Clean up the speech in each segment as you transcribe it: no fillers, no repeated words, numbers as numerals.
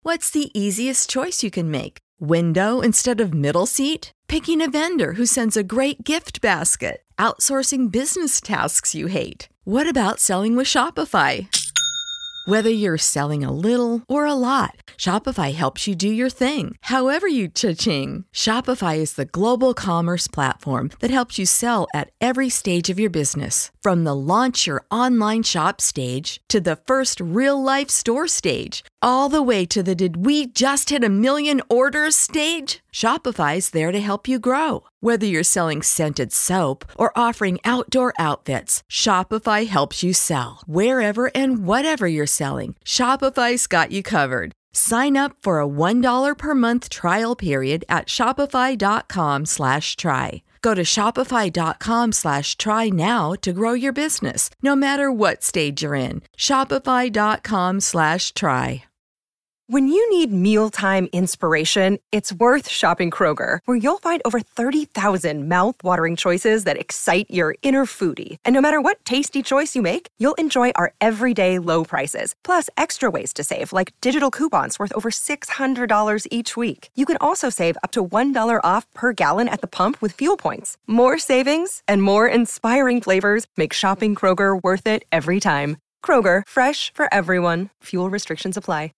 What's the easiest choice you can make? Window instead of middle seat? Picking a vendor who sends a great gift basket? Outsourcing business tasks you hate? What about selling with Shopify? Whether you're selling a little or a lot, Shopify helps you do your thing, however you cha-ching. Shopify is the global commerce platform that helps you sell at every stage of your business. From the launch your online shop stage to the first real-life store stage, all the way to the did we just hit a million orders stage. Shopify's there to help you grow. Whether you're selling scented soap or offering outdoor outfits, Shopify helps you sell. Wherever and whatever you're selling, Shopify's got you covered. Sign up for a $1 per month trial period at shopify.com/try. Go to shopify.com/try now to grow your business, no matter what stage you're in. Shopify.com/try. When you need mealtime inspiration, it's worth shopping Kroger, where you'll find over 30,000 mouth-watering choices that excite your inner foodie. And no matter what tasty choice you make, you'll enjoy our everyday low prices, plus extra ways to save, like digital coupons worth over $600 each week. You can also save up to $1 off per gallon at the pump with fuel points. More savings and more inspiring flavors make shopping Kroger worth it every time. Kroger, fresh for everyone. Fuel restrictions apply.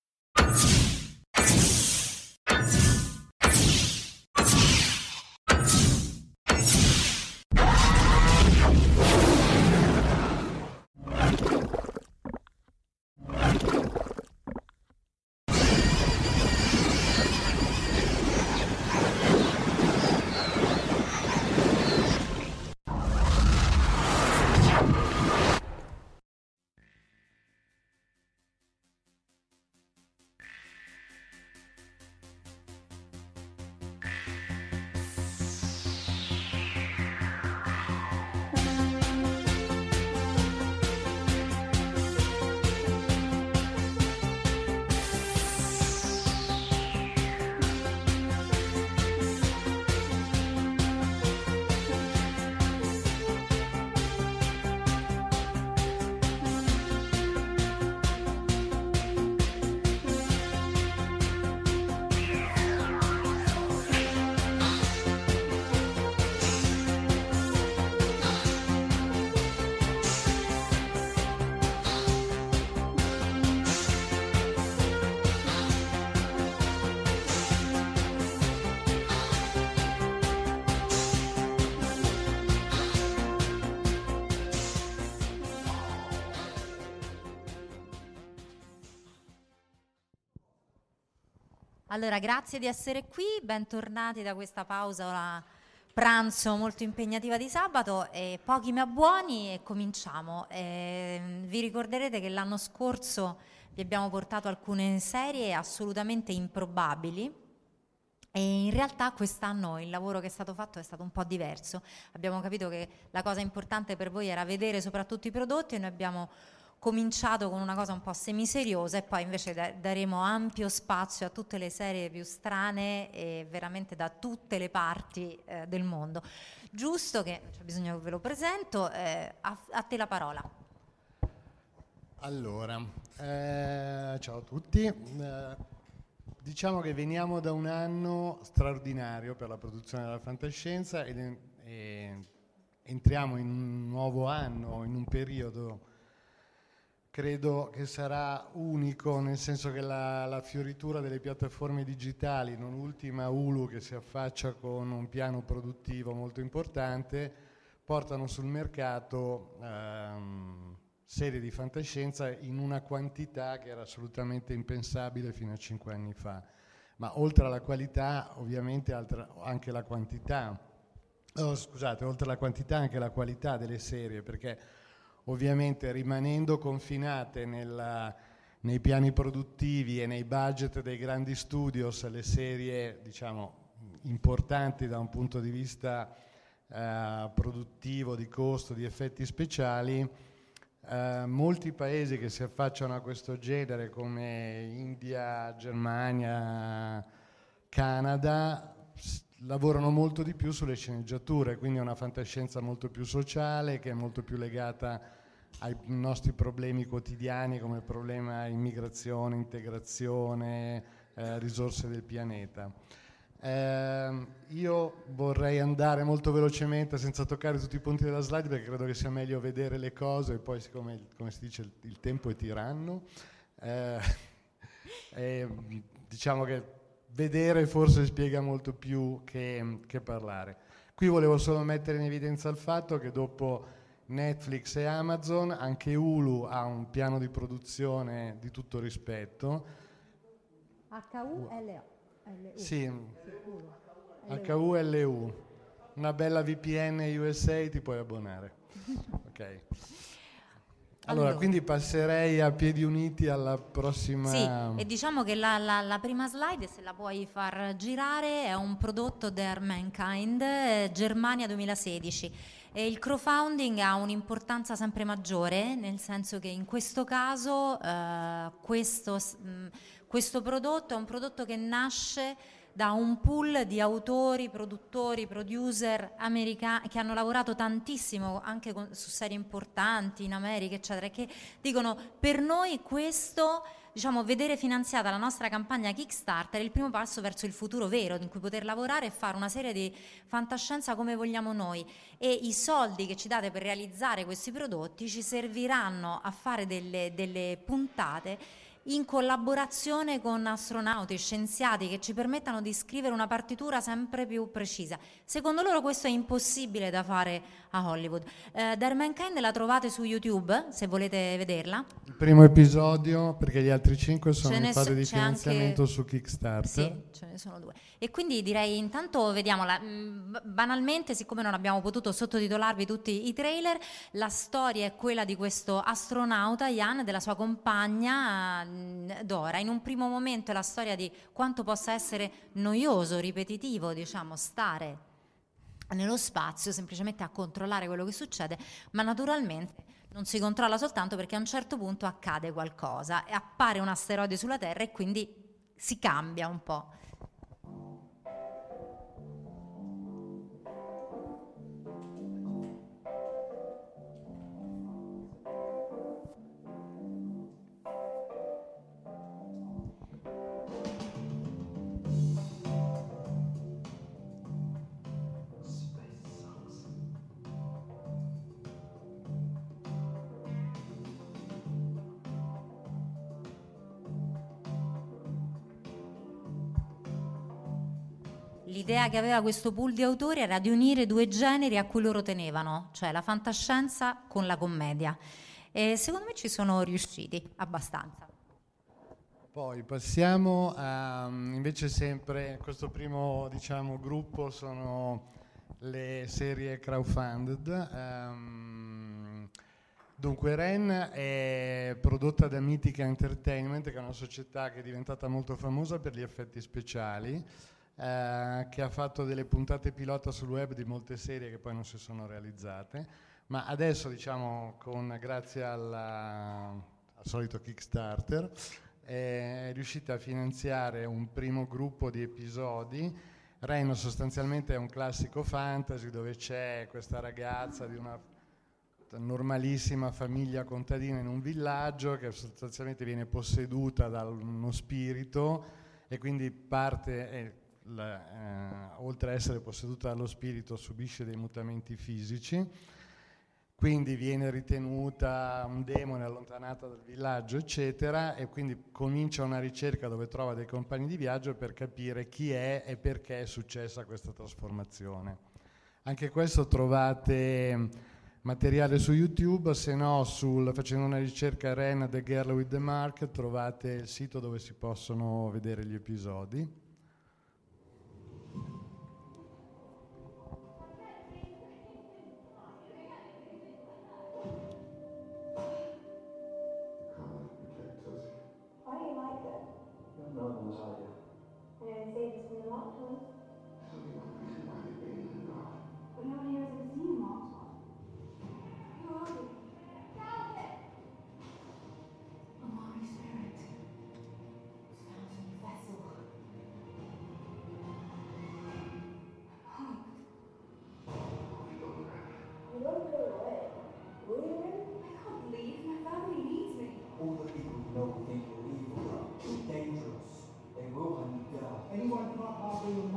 Allora, grazie di essere qui, bentornati da questa pausa pranzo molto impegnativa di sabato. Pochi ma buoni, e cominciamo. Vi ricorderete che l'anno scorso vi abbiamo portato alcune serie assolutamente improbabili, e in realtà quest'anno il lavoro che è stato fatto è stato un po' diverso. Abbiamo capito che la cosa importante per voi era vedere soprattutto i prodotti, e noi abbiamo cominciato con una cosa un po' semiseriosa, e poi invece daremo ampio spazio a tutte le serie più strane e veramente da tutte le parti del mondo. Giusto che c'è bisogno che ve lo presento, a te la parola. Allora, ciao a tutti. Diciamo che veniamo da un anno straordinario per la produzione della fantascienza e entriamo in un nuovo anno, in un periodo credo che sarà unico, nel senso che la fioritura delle piattaforme digitali, non ultima Hulu che si affaccia con un piano produttivo molto importante, portano sul mercato serie di fantascienza in una quantità che era assolutamente impensabile fino a 5 anni fa. Ma oltre alla qualità, ovviamente anche la quantità. Oltre alla quantità anche la qualità delle serie, perché ovviamente rimanendo confinate nei piani produttivi e nei budget dei grandi studios, le serie diciamo importanti da un punto di vista produttivo, di costo, di effetti speciali, molti paesi che si affacciano a questo genere come India, Germania, Canada lavorano molto di più sulle sceneggiature, quindi è una fantascienza molto più sociale, che è molto più legata ai nostri problemi quotidiani, come il problema immigrazione, integrazione, risorse del pianeta. Io vorrei andare molto velocemente senza toccare tutti i punti della slide, perché credo che sia meglio vedere le cose, e poi siccome, come si dice, il tempo è tiranno, diciamo che vedere forse spiega molto più che parlare. Qui volevo solo mettere in evidenza il fatto che dopo Netflix e Amazon anche Hulu ha un piano di produzione di tutto rispetto. HULU. Sì, HULU. Una bella VPN USA, ti puoi abbonare. Ok. Allora, quindi passerei a piedi uniti alla prossima. Sì, e diciamo che la prima slide, se la puoi far girare, è un prodotto der Mankind, Germania 2016. E il crowdfunding ha un'importanza sempre maggiore, nel senso che in questo caso questo prodotto è un prodotto che nasce da un pool di autori, produttori, producer americani che hanno lavorato tantissimo anche su serie importanti in America, eccetera, e che dicono: per noi questo, diciamo, vedere finanziata la nostra campagna Kickstarter è il primo passo verso il futuro vero, in cui poter lavorare e fare una serie di fantascienza come vogliamo noi, e i soldi che ci date per realizzare questi prodotti ci serviranno a fare delle puntate in collaborazione con astronauti, scienziati, che ci permettano di scrivere una partitura sempre più precisa. Secondo loro questo è impossibile da fare a Hollywood. Der Mankind la trovate su YouTube, se volete vederla. Il primo episodio, perché gli altri 5 sono in fase di finanziamento anche su Kickstarter. Sì, ce ne sono 2. E quindi direi intanto vediamola. Banalmente, siccome non abbiamo potuto sottotitolarvi tutti i trailer, la storia è quella di questo astronauta, Jan, e della sua compagna Dora. In un primo momento è la storia di quanto possa essere noioso, ripetitivo, diciamo, stare nello spazio semplicemente a controllare quello che succede, ma naturalmente non si controlla soltanto perché a un certo punto accade qualcosa e appare un asteroide sulla Terra e quindi si cambia un po'. L'idea che aveva questo pool di autori era di unire 2 generi a cui loro tenevano, cioè la fantascienza con la commedia. E secondo me ci sono riusciti abbastanza. Poi passiamo a, invece, sempre questo primo, diciamo, gruppo sono le serie crowdfunded. Dunque Ren è prodotta da Mythica Entertainment, che è una società che è diventata molto famosa per gli effetti speciali, che ha fatto delle puntate pilota sul web di molte serie che poi non si sono realizzate, ma adesso, diciamo, grazie al solito Kickstarter, è riuscita a finanziare un primo gruppo di episodi. Ren sostanzialmente è un classico fantasy dove c'è questa ragazza di una normalissima famiglia contadina in un villaggio che sostanzialmente viene posseduta da uno spirito e quindi parte, oltre a essere posseduta dallo spirito, subisce dei mutamenti fisici, quindi viene ritenuta un demone, allontanata dal villaggio, eccetera, e quindi comincia una ricerca dove trova dei compagni di viaggio per capire chi è e perché è successa questa trasformazione. Anche questo trovate materiale su YouTube, se no facendo una ricerca Ren The Girl with the Mark trovate il sito dove si possono vedere gli episodi.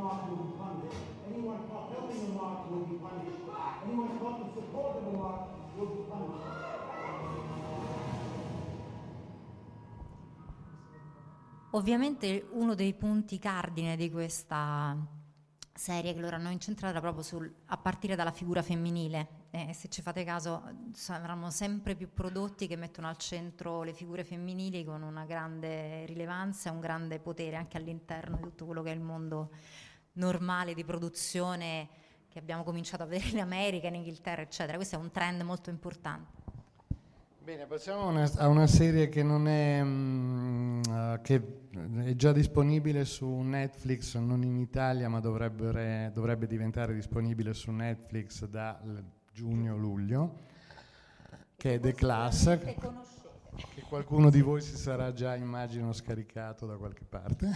mark will be punished. Anyone caught helping the mark will be punished. Anyone caught in support of the mark will be punished. Ovviamente uno dei punti cardine di questa serie che loro hanno incentrato era proprio a partire dalla figura femminile. Se ci fate caso saranno sempre più prodotti che mettono al centro le figure femminili con una grande rilevanza e un grande potere anche all'interno di tutto quello che è il mondo normale di produzione che abbiamo cominciato a vedere in America, in Inghilterra, eccetera. Questo è un trend molto importante. Bene, passiamo a una serie che non è che è già disponibile su Netflix, non in Italia, ma dovrebbe diventare disponibile su Netflix da giugno-luglio, che è The Class, che qualcuno di voi si sarà già, immagino, scaricato da qualche parte.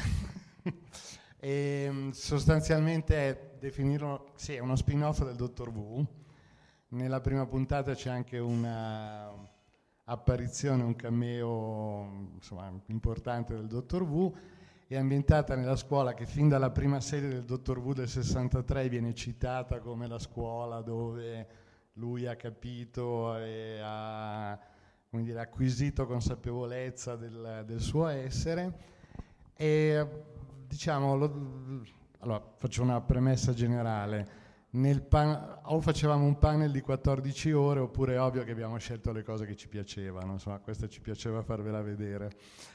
E sostanzialmente è uno spin-off del Dottor Who. Nella prima puntata c'è anche una apparizione, un cameo importante del Dottor Who. È ambientata nella scuola che fin dalla prima serie del Dottor Who del 63 viene citata come la scuola dove lui ha capito e ha acquisito consapevolezza del suo essere. E allora faccio una premessa generale. O facevamo un panel di 14 ore oppure è ovvio che abbiamo scelto le cose che ci piacevano, questa ci piaceva farvela vedere,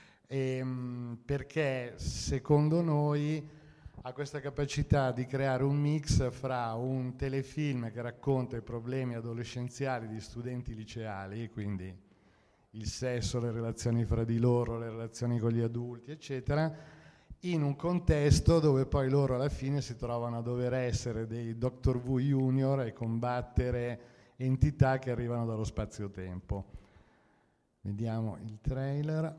perché secondo noi ha questa capacità di creare un mix fra un telefilm che racconta i problemi adolescenziali di studenti liceali, quindi il sesso, le relazioni fra di loro, le relazioni con gli adulti, eccetera, in un contesto dove poi loro alla fine si trovano a dover essere dei Doctor Who Junior e combattere entità che arrivano dallo spazio-tempo. Vediamo il trailer.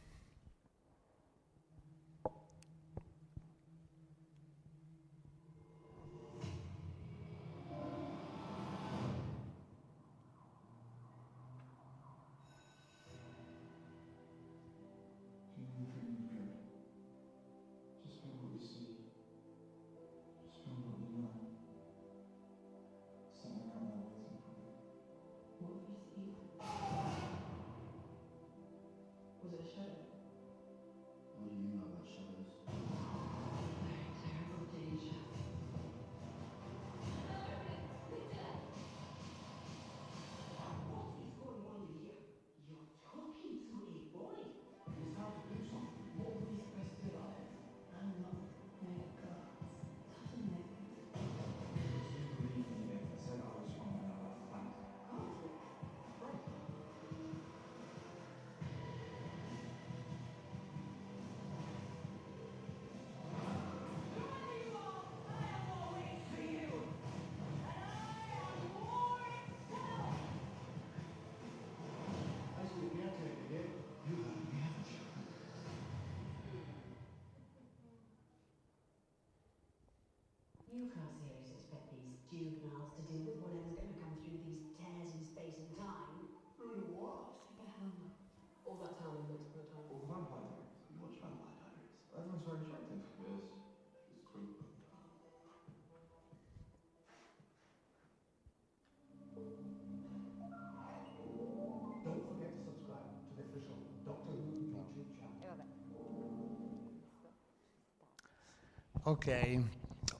You can't seriously expect these juveniles to deal with whatever's going to come through these tears in space and time. Through what? Stick a helmet. All that time in once upon a time. Or Vampire Diaries. You watch Vampire Diaries. Everyone's very attractive. Yes. It's true. Don't forget to subscribe to the official Doctor Who YouTube channel. Ok.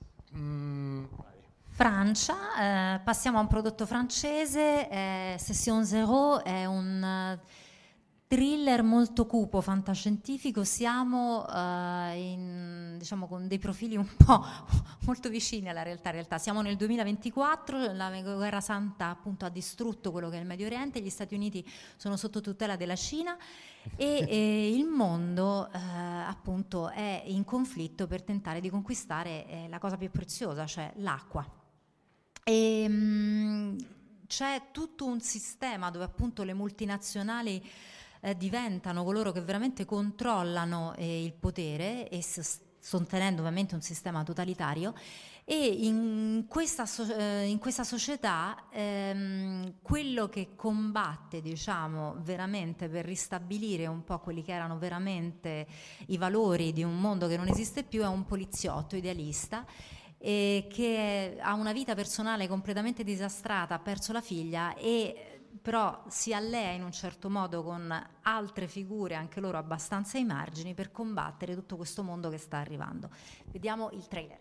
Francia, passiamo a un prodotto francese, Session Zero, è un thriller molto cupo, fantascientifico. Siamo con dei profili un po' molto vicini alla realtà. Siamo nel 2024, la guerra santa appunto ha distrutto quello che è il Medio Oriente, gli Stati Uniti sono sotto tutela della Cina e il mondo appunto è in conflitto per tentare di conquistare la cosa più preziosa, cioè l'acqua. E c'è tutto un sistema dove appunto le multinazionali diventano coloro che veramente controllano il potere e sostenendo ovviamente un sistema totalitario, e in questa società quello che combatte, diciamo, veramente per ristabilire un po' quelli che erano veramente i valori di un mondo che non esiste più è un poliziotto idealista che ha una vita personale completamente disastrata, ha perso la figlia e però si allea in un certo modo con altre figure, anche loro abbastanza ai margini, per combattere tutto questo mondo che sta arrivando. Vediamo il trailer.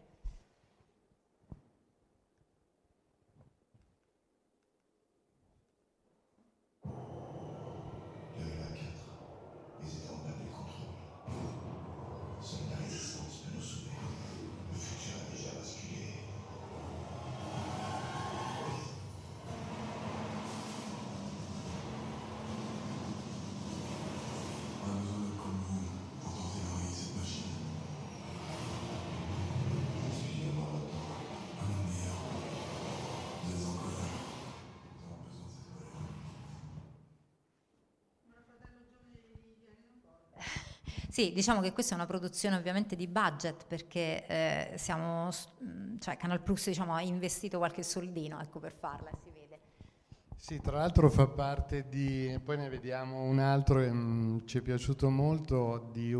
Sì, diciamo che questa è una produzione ovviamente di budget perché cioè Canal Plus, diciamo, ha investito qualche soldino, ecco, per farla, si vede. Sì, tra l'altro fa parte di, poi ne vediamo un altro che ci è piaciuto molto, di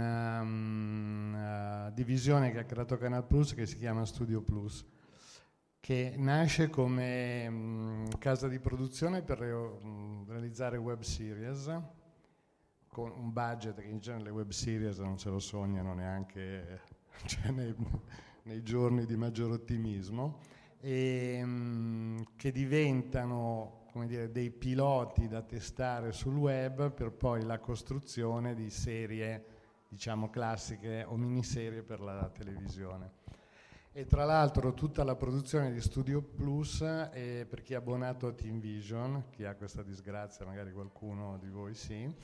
una divisione che ha creato Canal Plus che si chiama Studio Plus, che nasce come casa di produzione per realizzare web series, con un budget che in genere le web series non se lo sognano neanche cioè nei giorni di maggior ottimismo, e che diventano, come dire, dei piloti da testare sul web per poi la costruzione di serie, diciamo, classiche o miniserie per la televisione. E tra l'altro tutta la produzione di Studio Plus, per chi è abbonato a Team Vision, chi ha questa disgrazia, magari qualcuno di voi sì,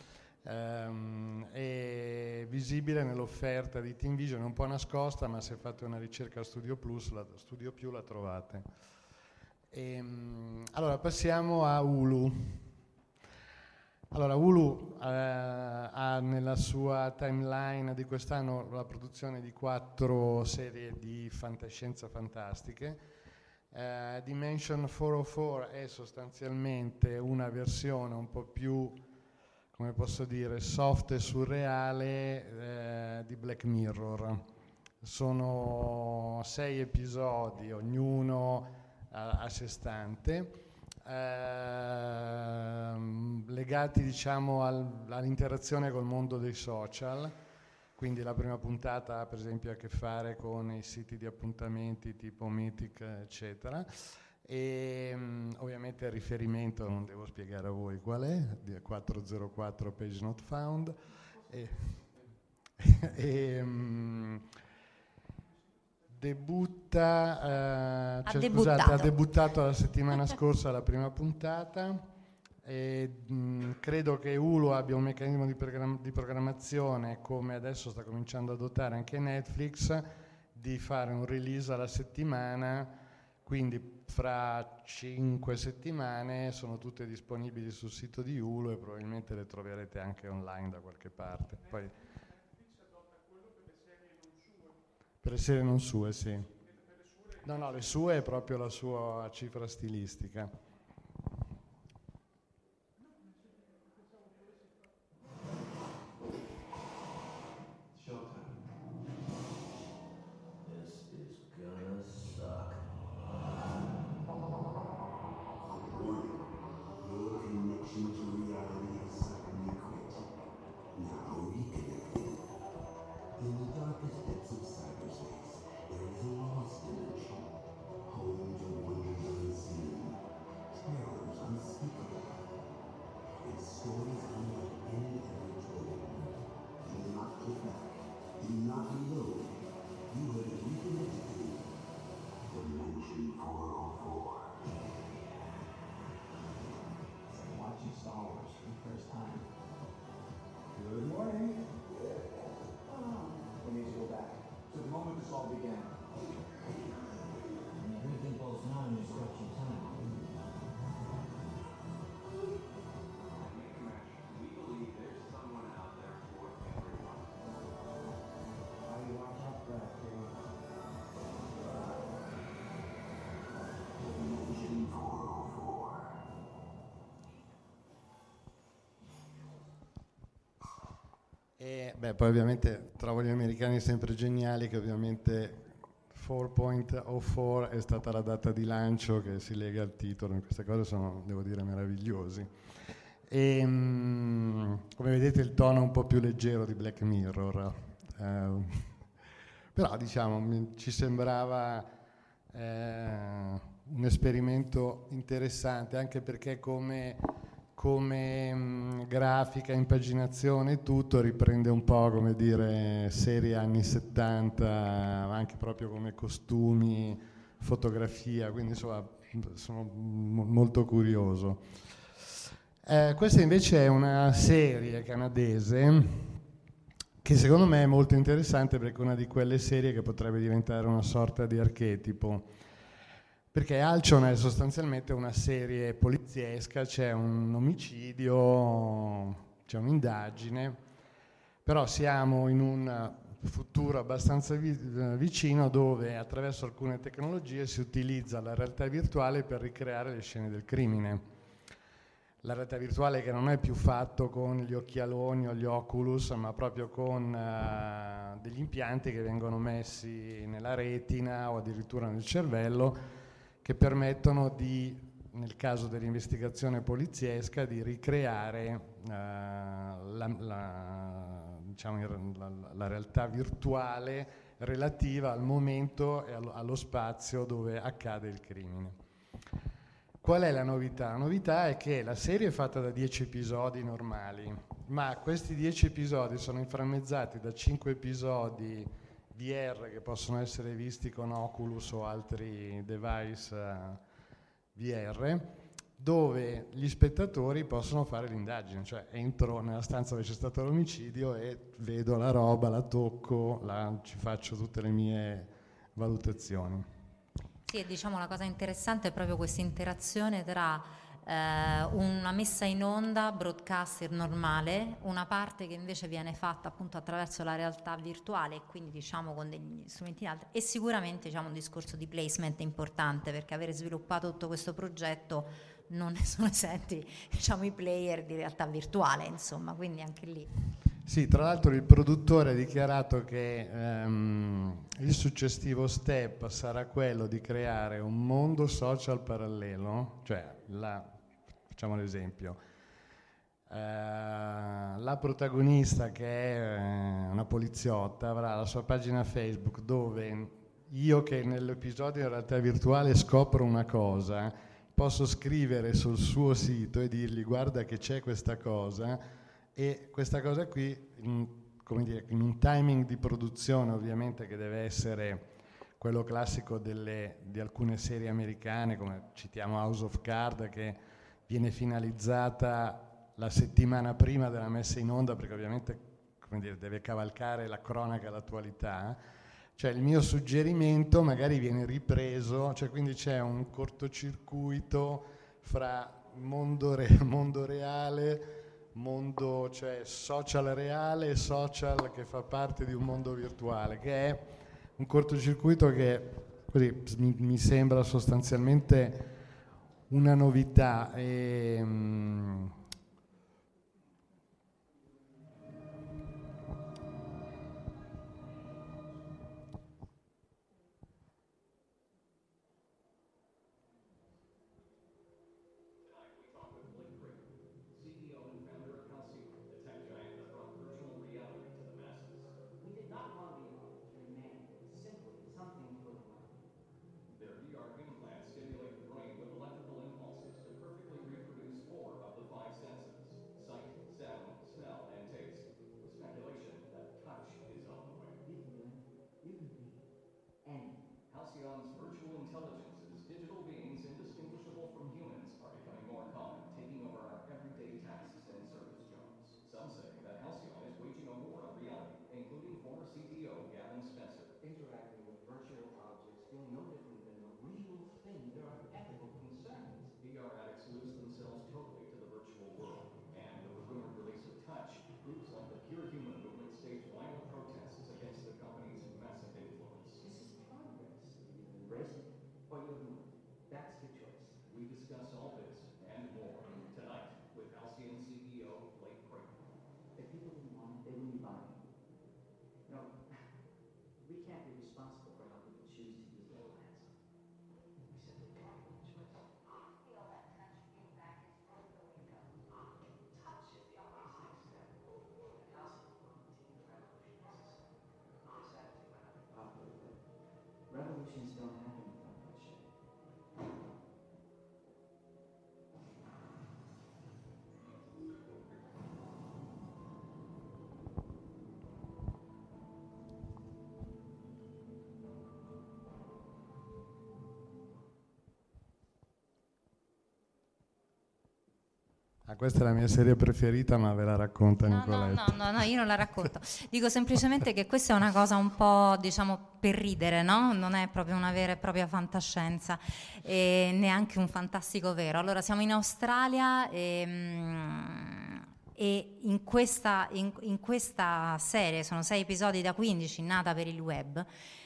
è visibile nell'offerta di Team Vision, è un po' nascosta, ma se fate una ricerca a Studio Plus, Studio Più la trovate. Allora passiamo a Hulu. Allora Hulu ha nella sua timeline di quest'anno la produzione di 4 serie di fantascienza fantastiche. Dimension 404 è sostanzialmente una versione un po' più, come posso dire, soft e surreale di Black Mirror. Sono 6 episodi, ognuno a sé stante, legati, diciamo, all'interazione col mondo dei social. Quindi la prima puntata ha per esempio a che fare con i siti di appuntamenti tipo Mythic, eccetera. E ovviamente il riferimento non devo spiegare a voi qual è, 404 page not found, ha debuttato la settimana scorsa la prima puntata, e credo che Hulu abbia un meccanismo di programmazione, come adesso sta cominciando ad adottare anche Netflix, di fare un release alla settimana, quindi fra 5 settimane sono tutte disponibili sul sito di Hulu e probabilmente le troverete anche online da qualche parte. Poi, per le serie non sue, sì. No, le sue è proprio la sua cifra stilistica. E poi ovviamente trovo gli americani sempre geniali, che ovviamente 4.04 è stata la data di lancio che si lega al titolo, queste cose sono, devo dire, meravigliosi. E, come vedete il tono è un po' più leggero di Black Mirror, però diciamo ci sembrava un esperimento interessante, anche perché come grafica, impaginazione e tutto riprende un po', come dire, serie anni 70, anche proprio come costumi, fotografia, quindi insomma sono molto curioso. Questa invece è una serie canadese che secondo me è molto interessante, perché è una di quelle serie che potrebbe diventare una sorta di archetipo. Perché Alcion è sostanzialmente una serie poliziesca, c'è un omicidio, c'è un'indagine, però siamo in un futuro abbastanza vicino, dove attraverso alcune tecnologie si utilizza la realtà virtuale per ricreare le scene del crimine. La realtà virtuale che non è più fatto con gli occhialoni o gli Oculus, ma proprio con degli impianti che vengono messi nella retina o addirittura nel cervello, che permettono di, nel caso dell'investigazione poliziesca, di ricreare la realtà virtuale relativa al momento e allo spazio dove accade il crimine. Qual è la novità? La novità è che la serie è fatta da 10 episodi normali, ma questi 10 episodi sono inframmezzati da 5 episodi VR che possono essere visti con Oculus o altri device VR, dove gli spettatori possono fare l'indagine, cioè entro nella stanza dove c'è stato l'omicidio e vedo la roba, la tocco, ci faccio tutte le mie valutazioni. Sì, e diciamo la cosa interessante è proprio questa interazione tra una messa in onda broadcaster normale, una parte che invece viene fatta appunto attraverso la realtà virtuale e quindi diciamo con degli strumenti altri, e sicuramente diciamo un discorso di placement importante, perché avere sviluppato tutto questo progetto non ne sono esenti diciamo i player di realtà virtuale, insomma, quindi anche lì. Sì, tra l'altro il produttore ha dichiarato che il successivo step sarà quello di creare un mondo social parallelo, cioè facciamo l'esempio, la protagonista, che è una poliziotta, avrà la sua pagina Facebook dove io, che nell'episodio in realtà virtuale scopro una cosa, posso scrivere sul suo sito e dirgli guarda che c'è questa cosa. E questa cosa qui, come dire, in un timing di produzione ovviamente che deve essere quello classico di alcune serie americane, come citiamo House of Cards, che viene finalizzata la settimana prima della messa in onda, perché ovviamente, come dire, deve cavalcare la cronaca e l'attualità. Cioè il mio suggerimento magari viene ripreso, cioè quindi c'è un cortocircuito fra mondo reale, mondo, cioè social reale e social che fa parte di un mondo virtuale, che è un cortocircuito che così mi sembra sostanzialmente una novità. Halcyon's virtual intelligences, digital beings indistinguishable from humans, are becoming more common, taking over our everyday tasks and service jobs. Some say that Halcyon is waging a war on reality, including former CTO Gavin Spencer. Interacting with virtual objects feel no different than the real thing. There are ethical concerns. VR addicts lose themselves totally to the virtual world. And with the rumored release of Touch, groups like the Pure Human movement stage violent protests against the company's massive influence. This is progress. You either embrace it or you responsible for how people choose to use their lands. We simply got one choice. Touch is the obvious next step. And Halcyon will continue the revolution necessary. This attitude might not be popular, but revolutions don't happen without bloodshed. Questa è la mia serie preferita, ma ve la racconta Nicoletta. No, io non la racconto. Dico semplicemente che questa è una cosa un po', diciamo, per ridere, no? Non è proprio una vera e propria fantascienza, e neanche un fantastico vero. Allora, siamo in Australia e in questa serie, sono 6 episodi da 15, nata per il web,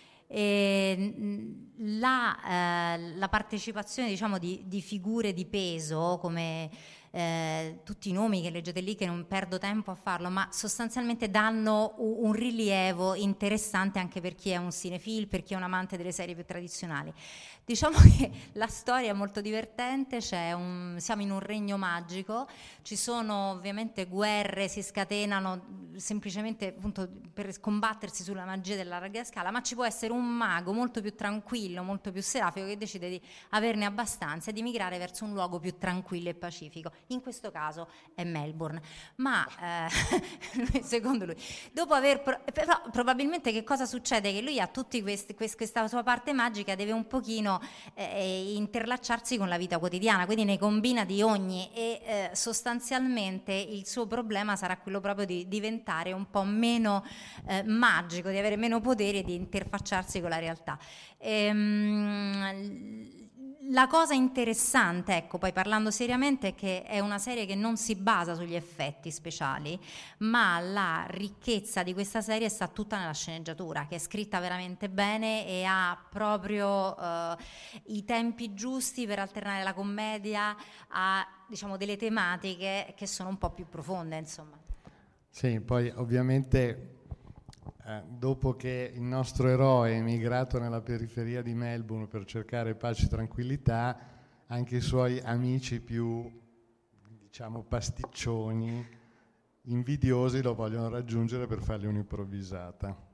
e la partecipazione, diciamo, di figure di peso come tutti i nomi che leggete lì, che non perdo tempo a farlo, ma sostanzialmente danno un rilievo interessante anche per chi è un cinefil, per chi è un amante delle serie più tradizionali. Diciamo che la storia è molto divertente, siamo in un regno magico, ci sono ovviamente guerre, si scatenano semplicemente appunto per combattersi sulla magia della larga scala, ma ci può essere un mago molto più tranquillo, molto più serafico, che decide di averne abbastanza e di migrare verso un luogo più tranquillo e pacifico. In questo caso è Melbourne, ma secondo lui, dopo aver però probabilmente che cosa succede? Che lui ha tutti questa sua parte magica, deve un pochino interlacciarsi con la vita quotidiana, quindi ne combina di ogni, e sostanzialmente il suo problema sarà quello proprio di diventare un po' meno magico, di avere meno poteri e di interfacciarsi con la realtà. La cosa interessante, ecco, poi parlando seriamente, è che è una serie che non si basa sugli effetti speciali, ma la ricchezza di questa serie sta tutta nella sceneggiatura, che è scritta veramente bene e ha proprio i tempi giusti per alternare la commedia a, diciamo, delle tematiche che sono un po' più profonde, insomma. Sì, poi ovviamente dopo che il nostro eroe è emigrato nella periferia di Melbourne per cercare pace e tranquillità, anche i suoi amici più, diciamo, pasticcioni, invidiosi, lo vogliono raggiungere per fargli un'improvvisata.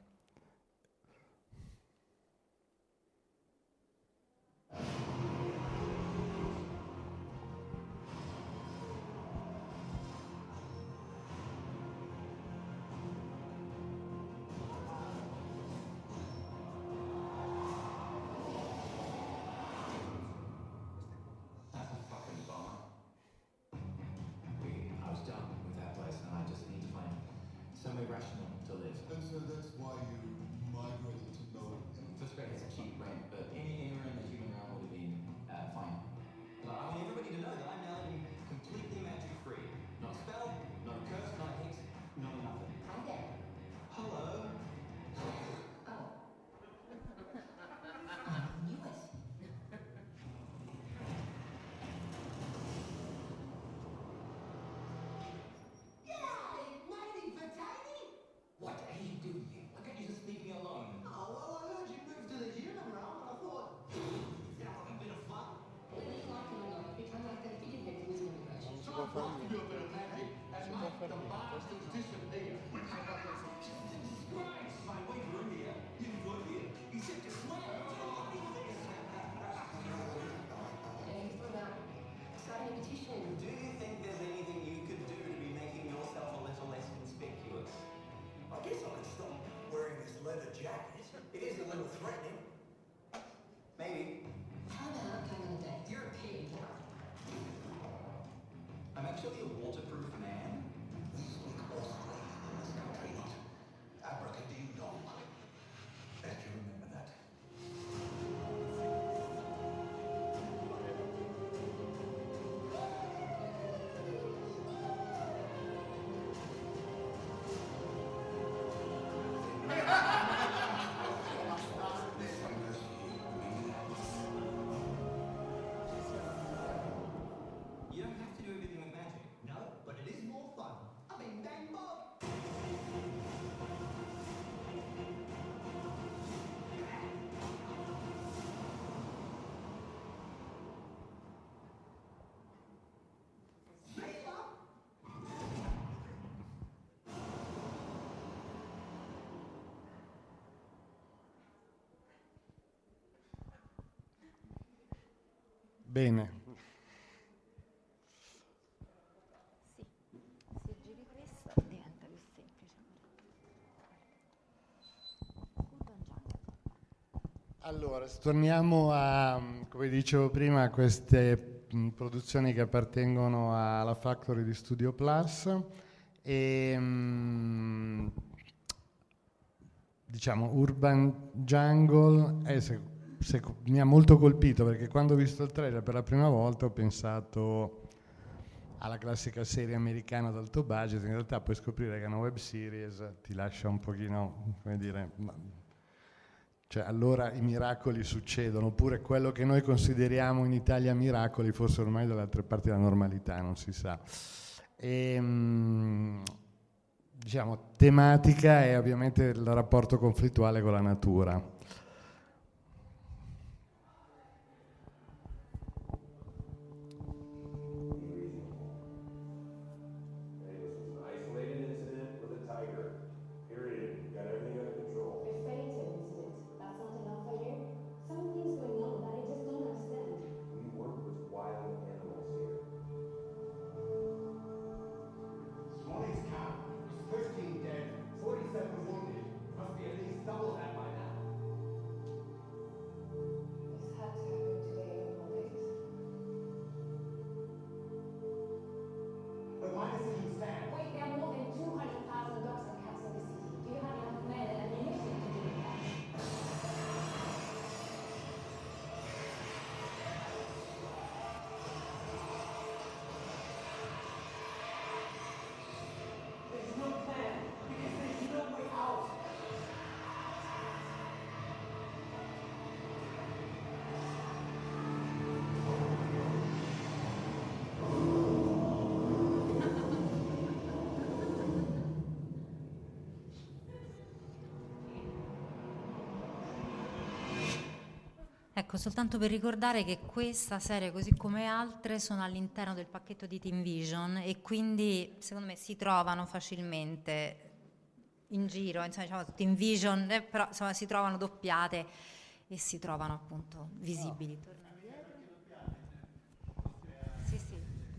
Bene. Se giri questo diventa più semplice. Allora, torniamo a, come dicevo prima, a queste produzioni che appartengono alla Factory di Studio Plus e diciamo Urban Jungle mi ha molto colpito, perché quando ho visto il trailer per la prima volta ho pensato alla classica serie americana ad alto budget. In realtà puoi scoprire che è una web series, ti lascia un pochino, come dire, cioè allora i miracoli succedono, oppure quello che noi consideriamo in Italia miracoli forse ormai dalle altre parti della normalità, non si sa. E, diciamo, tematica è ovviamente il rapporto conflittuale con la natura. Ecco, soltanto per ricordare che questa serie, così come altre, sono all'interno del pacchetto di Team Vision e quindi secondo me si trovano facilmente in giro, insomma, diciamo Team Vision, però insomma si trovano doppiate e si trovano appunto visibili. Sì, sì.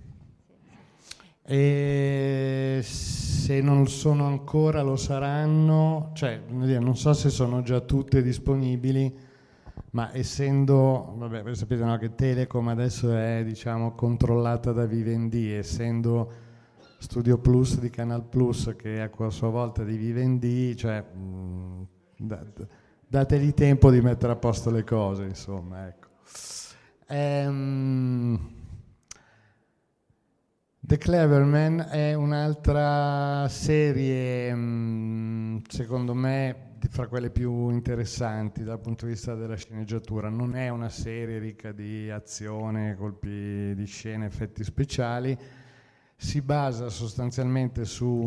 E se non sono ancora lo saranno, cioè non so se sono già tutte disponibili, ma essendo, vabbè, voi sapete, no, che Telecom adesso è, diciamo, controllata da Vivendi, essendo Studio Plus di Canal Plus che è a sua volta di Vivendi, cioè dategli tempo di mettere a posto le cose, insomma, ecco. The Cleverman è un'altra serie, secondo me, fra quelle più interessanti dal punto di vista della sceneggiatura. Non è una serie ricca di azione, colpi di scena, effetti speciali. Si basa sostanzialmente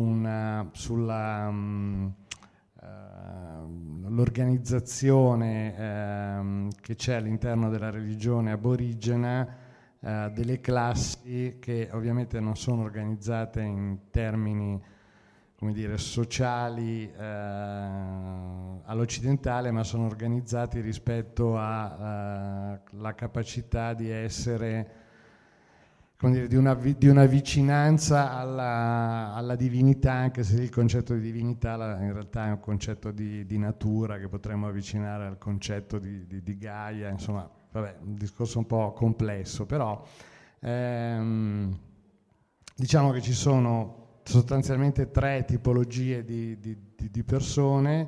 sull'organizzazione che c'è all'interno della religione aborigena, delle classi che ovviamente non sono organizzate in termini, come dire, sociali all'occidentale, ma sono organizzati rispetto alla capacità di essere, come dire, di una vicinanza alla divinità, anche se il concetto di divinità in realtà è un concetto di natura che potremmo avvicinare al concetto di Gaia, insomma, vabbè, un discorso un po' complesso, però diciamo che ci sono sostanzialmente tre tipologie di persone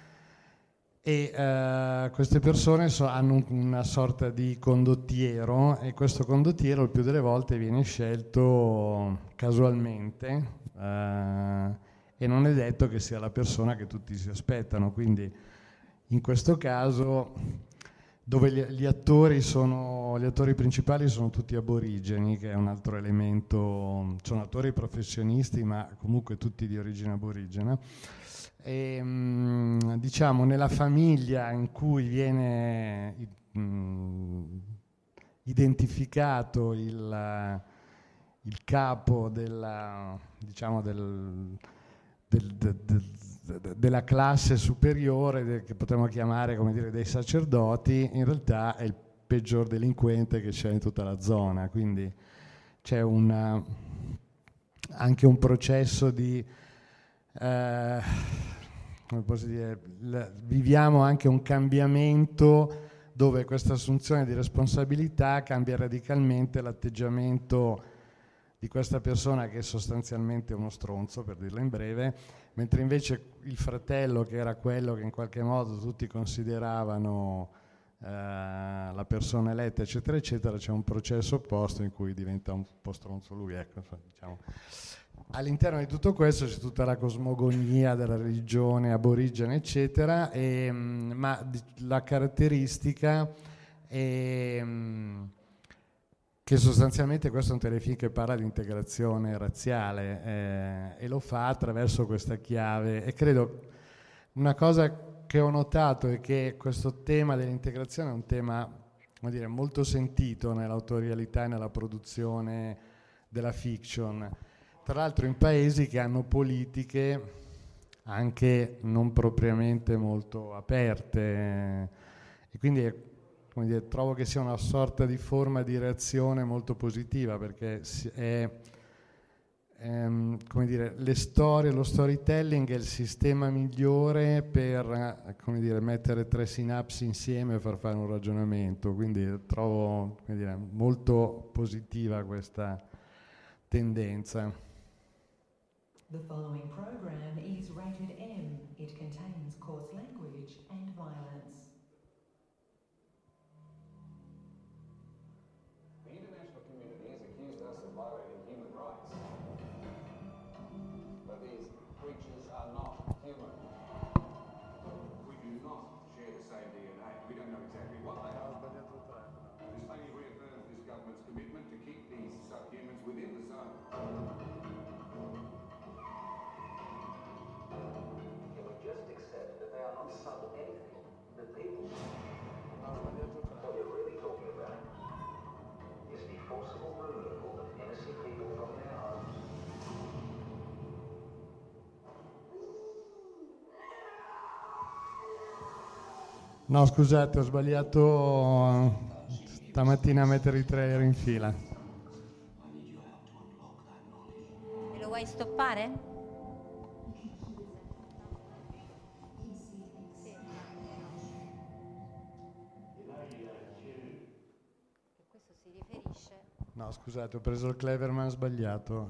e queste persone hanno una sorta di condottiero, e questo condottiero il più delle volte viene scelto casualmente e non è detto che sia la persona che tutti si aspettano, quindi in questo caso, dove gli attori principali sono tutti aborigeni, che è un altro elemento, sono attori professionisti ma comunque tutti di origine aborigena, e diciamo nella famiglia in cui viene identificato il capo della classe superiore, che potremmo chiamare, come dire, dei sacerdoti, in realtà è peggior delinquente che c'è in tutta la zona, quindi c'è anche un processo di come posso dire, viviamo anche un cambiamento dove questa assunzione di responsabilità cambia radicalmente l'atteggiamento di questa persona che è sostanzialmente uno stronzo, per dirla in breve, mentre invece il fratello, che era quello che in qualche modo tutti consideravano la persona eletta, eccetera, eccetera, c'è un processo opposto in cui diventa un po' stronzo lui, ecco, diciamo. All'interno di tutto questo c'è tutta la cosmogonia della religione aborigene, eccetera, ma la caratteristica è che sostanzialmente questo è un telefilm che parla di integrazione razziale e lo fa attraverso questa chiave, e credo una cosa che ho notato è che questo tema dell'integrazione è un tema, come dire, molto sentito nell'autorialità e nella produzione della fiction, tra l'altro in paesi che hanno politiche anche non propriamente molto aperte, e quindi come dire, trovo che sia una sorta di forma di reazione molto positiva, perché come dire, le storie, lo storytelling è il sistema migliore per come dire, mettere tre sinapsi insieme e far fare un ragionamento, quindi trovo, come dire, molto positiva questa tendenza. The following program is rated M. It contains coarse language and violence. The international community has accused us of violating human rights. But these creatures are not human. We do not share the same DNA. We don't know exactly what they are. This only reaffirms this government's commitment to keep these subhumans within the zone. Can we just accept that they are not sub anything? The people. What you're really talking about is the forcible removal of innocent people from their homes. No, scusate, ho sbagliato stamattina a mettere i trailer in fila. Me lo vuoi stoppare? Questo si riferisce. No, scusate, ho preso il Cleverman sbagliato.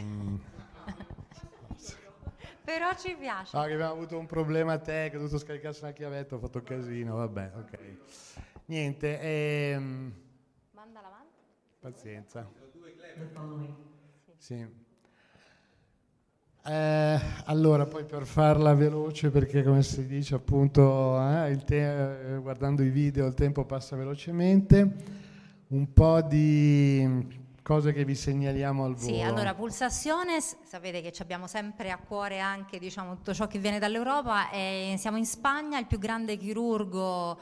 Però ci piace. No, che abbiamo avuto un problema tecnico, ho dovuto scaricarsi una chiavetta, ho fatto casino, vabbè, ok. Niente, Mandala avanti. pazienza. The following. Sì. Allora, poi per farla veloce, perché come si dice appunto, guardando i video il tempo passa velocemente, un po' di cose che vi segnaliamo al volo. Sì, allora Pulsaciones, sapete che ci abbiamo sempre a cuore anche, diciamo, tutto ciò che viene dall'Europa. Siamo in Spagna, il più grande chirurgo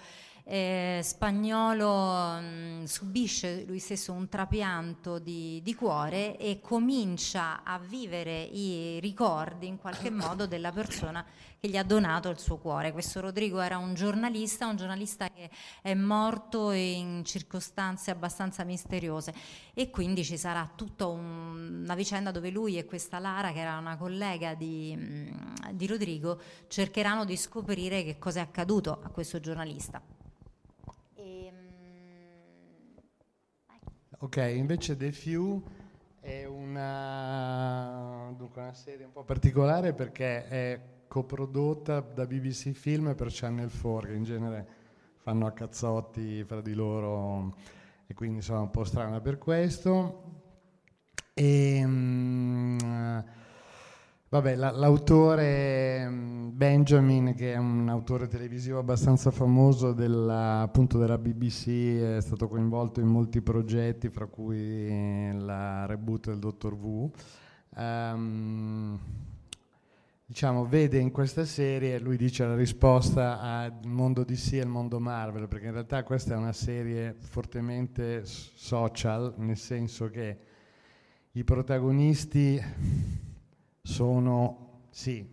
spagnolo subisce lui stesso un trapianto di cuore e comincia a vivere i ricordi in qualche modo della persona che gli ha donato il suo cuore. Questo Rodrigo era un giornalista che è morto in circostanze abbastanza misteriose, e quindi ci sarà tutta una vicenda dove lui e questa Lara, che era una collega di Rodrigo, cercheranno di scoprire che cosa è accaduto a questo giornalista. Ok, invece The Few è una serie un po' particolare perché è coprodotta da BBC Film per Channel 4, che in genere fanno a cazzotti fra di loro, e quindi insomma un po' strana per questo. Vabbè, l'autore Benjamin, che è un autore televisivo abbastanza famoso appunto della BBC, è stato coinvolto in molti progetti, fra cui la reboot del Dottor Who. Diciamo, vede in questa serie, lui dice, la risposta al mondo DC e al mondo Marvel, perché in realtà questa è una serie fortemente social, nel senso che i protagonisti sono, sì,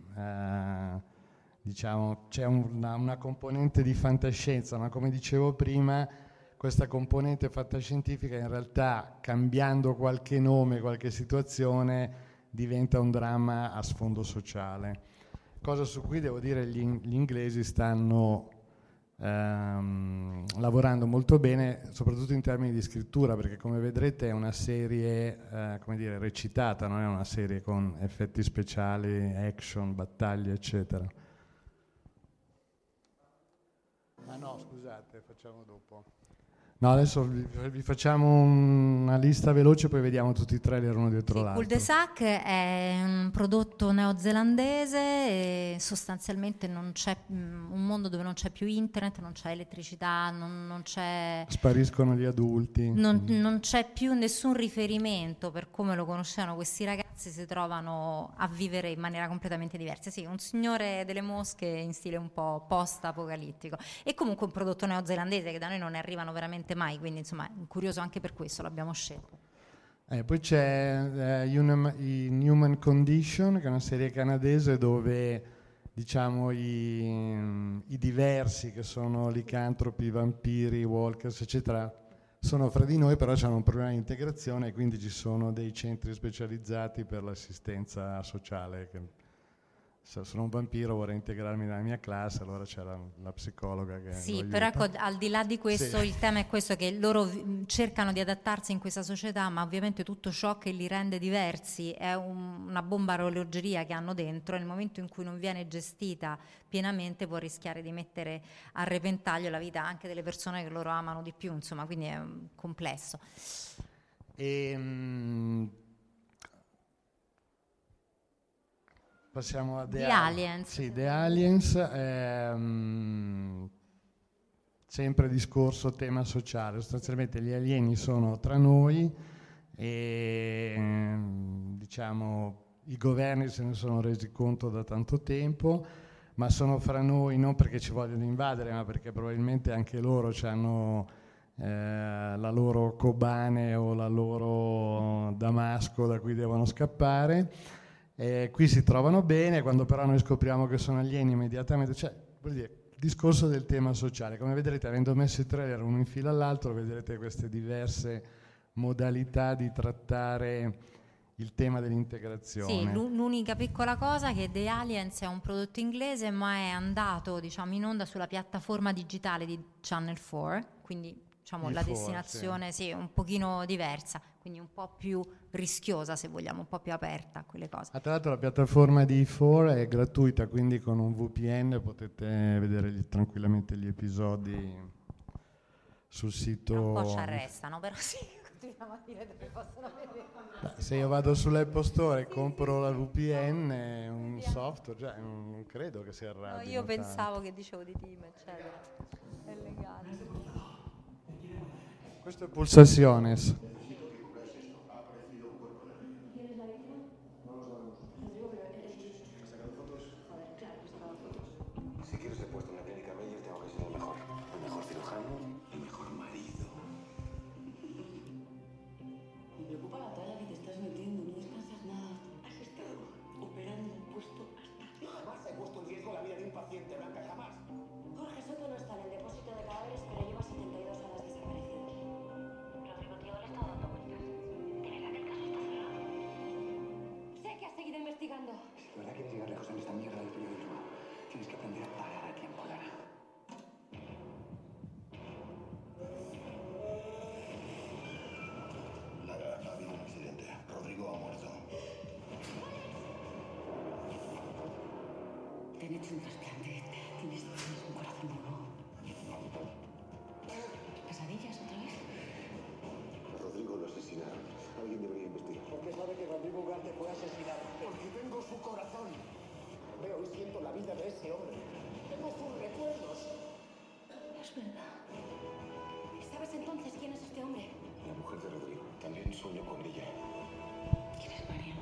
diciamo, c'è una componente di fantascienza, ma come dicevo prima, questa componente fantascientifica in realtà, cambiando qualche nome, qualche situazione, diventa un dramma a sfondo sociale. Cosa su cui devo dire gli inglesi stanno lavorando molto bene, soprattutto in termini di scrittura, perché come vedrete è una serie come dire, recitata, non è una serie con effetti speciali, action, battaglie, eccetera. Ah no, scusate, facciamo dopo. No, adesso vi facciamo una lista veloce, poi vediamo tutti i trailer uno dietro l'altro. Cul-de-sac è un prodotto neozelandese e sostanzialmente non c'è un mondo dove non c'è più internet, non c'è elettricità, non c'è... Spariscono gli adulti. Non c'è più nessun riferimento per come lo conoscevano questi ragazzi, si trovano a vivere in maniera completamente diversa. Sì, un signore delle mosche in stile un po' post-apocalittico. E comunque un prodotto neozelandese che da noi non ne arrivano veramente mai, quindi insomma è curioso anche per questo, l'abbiamo scelto. Poi c'è Human Condition, che è una serie canadese dove diciamo i diversi, che sono licantropi, vampiri, walkers, eccetera, sono fra di noi, però hanno un problema di integrazione e quindi ci sono dei centri specializzati per l'assistenza sociale. Se sono un vampiro, vorrei integrarmi nella mia classe, allora c'era la psicologa che sì, però ecco, al di là di questo, sì, il tema è questo, che loro cercano di adattarsi in questa società, ma ovviamente tutto ciò che li rende diversi è una bomba a orologeria che hanno dentro, e nel momento in cui non viene gestita pienamente può rischiare di mettere a repentaglio la vita anche delle persone che loro amano di più, insomma, quindi è complesso. Passiamo a The Aliens. Sì, The Aliens, sempre discorso tema sociale. Sostanzialmente gli alieni sono tra noi e diciamo i governi se ne sono resi conto da tanto tempo, ma sono fra noi non perché ci vogliono invadere, ma perché probabilmente anche loro hanno la loro Kobane o la loro Damasco da cui devono scappare. Qui si trovano bene, quando però noi scopriamo che sono alieni immediatamente, cioè vuol dire il discorso del tema sociale. Come vedrete, avendo messo i trailer uno in fila all'altro, vedrete queste diverse modalità di trattare il tema dell'integrazione. Sì, l'unica piccola cosa è che The Aliens è un prodotto inglese, ma è andato, diciamo, in onda sulla piattaforma digitale di Channel 4, quindi diciamo la destinazione sì, un pochino diversa, quindi un po' più rischiosa, se vogliamo, un po' più aperta a quelle cose. Tra l'altro la piattaforma di E4 è gratuita, quindi con un VPN potete vedere tranquillamente gli episodi sul sito. Un po' ci arrestano, però sì, continuiamo a dire dove possono vedere. Se io vado sull'Apple Store e compro la VPN, un software, cioè, non credo che si arrabbino. No, io pensavo tanto. che dicevo di team, eccetera. È legale. Questo è Pulsaciones. Si quiero ser puesto en la clínica Meyer, tengo que ser el mejor cirujano, el mejor marido. Me preocupa la talla que te estás metiendo, no descansas nada. Has estado operando un puesto hasta... Jamás he puesto en riesgo la vida de un paciente, Blanca, jamás. Jorge Soto no está en el depósito de cadáveres, pero lleva 72 horas desaparecido. Rodrigo Tío le está dando vueltas. ¿De verdad que el caso está cerrado? Sé que has seguido investigando. Si de verdad quieres llegar lejos en esta mierda del periodismo, tienes que aprender a parar a tiempo, Lara. Lara, ha habido un accidente. Rodrigo ha muerto. Te han hecho un trasplante. Tienes un corazón nuevo. ¿Pesadillas otra vez? Rodrigo lo asesinaron. Alguien debería investigar. ¿Por qué sabe que Rodrigo Ugarte fue asesinado? Porque tengo su corazón. Veo y siento la vida de ese hombre. Tengo sus recuerdos. Es verdad. ¿Sabes entonces quién es este hombre? La mujer de Rodrigo. También sueño con ella. ¿Quién es María?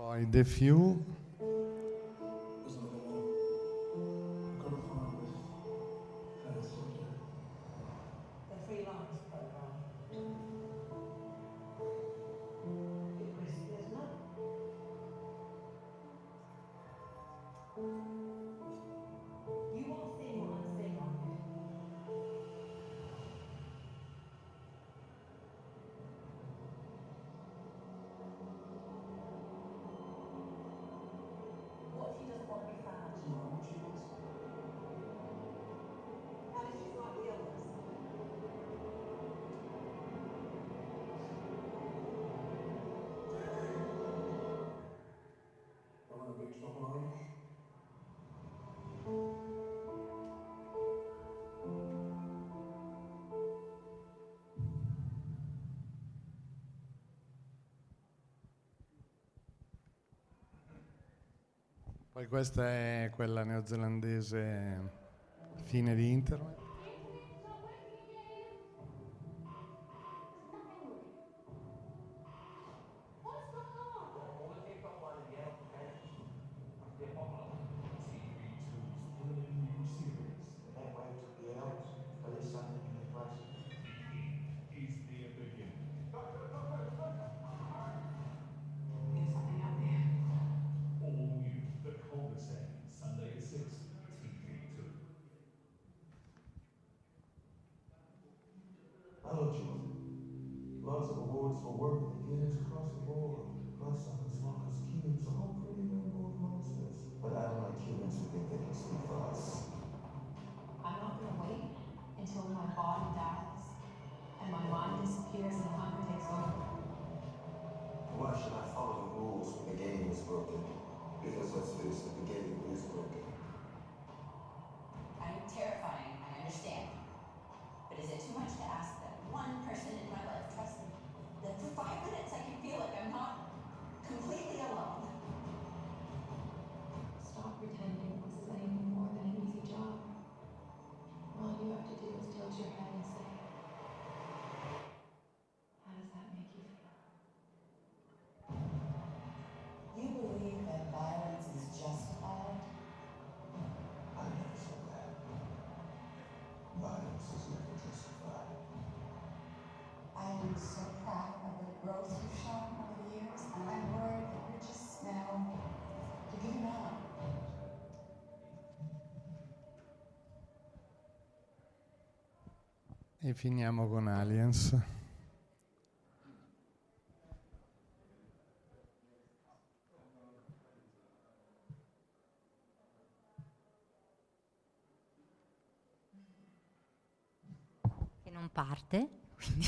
Poi The Few. The freelance program. It risky, isn't it? You won't see what I'm seeing on it. What if he doesn't want to be found? Do you know what she wants? How did you find the others? I'm in a big trouble, are you? Poi questa è quella neozelandese, fine di Internet. There's something out there. All new, The Cul-de-sac, Sunday at 6, TV2. Hello, Julie. Lots of awards for work with the units across the board. Plus, I'm as long as Cubans are all pretty damn old monsters. But I don't like Cubans who think they can speak for us. I'm not gonna wait until my body dies and my mind disappears and hunger takes over. Why should I follow the rules when the game is broken? Because let's face it, the game is broken. I'm terrifying, I understand. But is it too much to ask that one person in my life trusts me? That for 5 minutes I can feel like I'm not completely alone? Stop pretending this is anything more than an easy job. All you have to do is tilt your head and say, how does that make you feel? You believe that violence is justified? I never said that. Violence is never justified. I am so proud of the growth you've shown over the years, and I'm worried that you're just now giving up. E finiamo con Aliens. Che non parte, quindi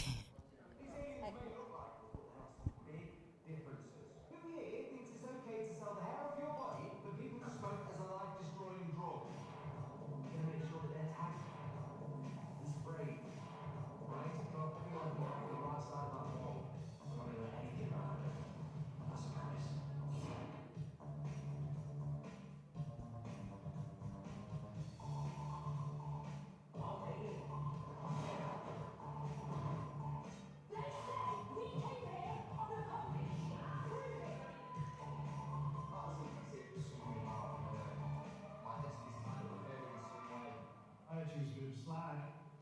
Who here thinks it's okay to sell the hair off your body for people to smoke as a life-destroying drug? We're gonna make sure that they're tagged and sprayed, right? Got everyone on the right side of that wall. I'm not gonna let anything happen. That's a promise. I choose a bit of slag.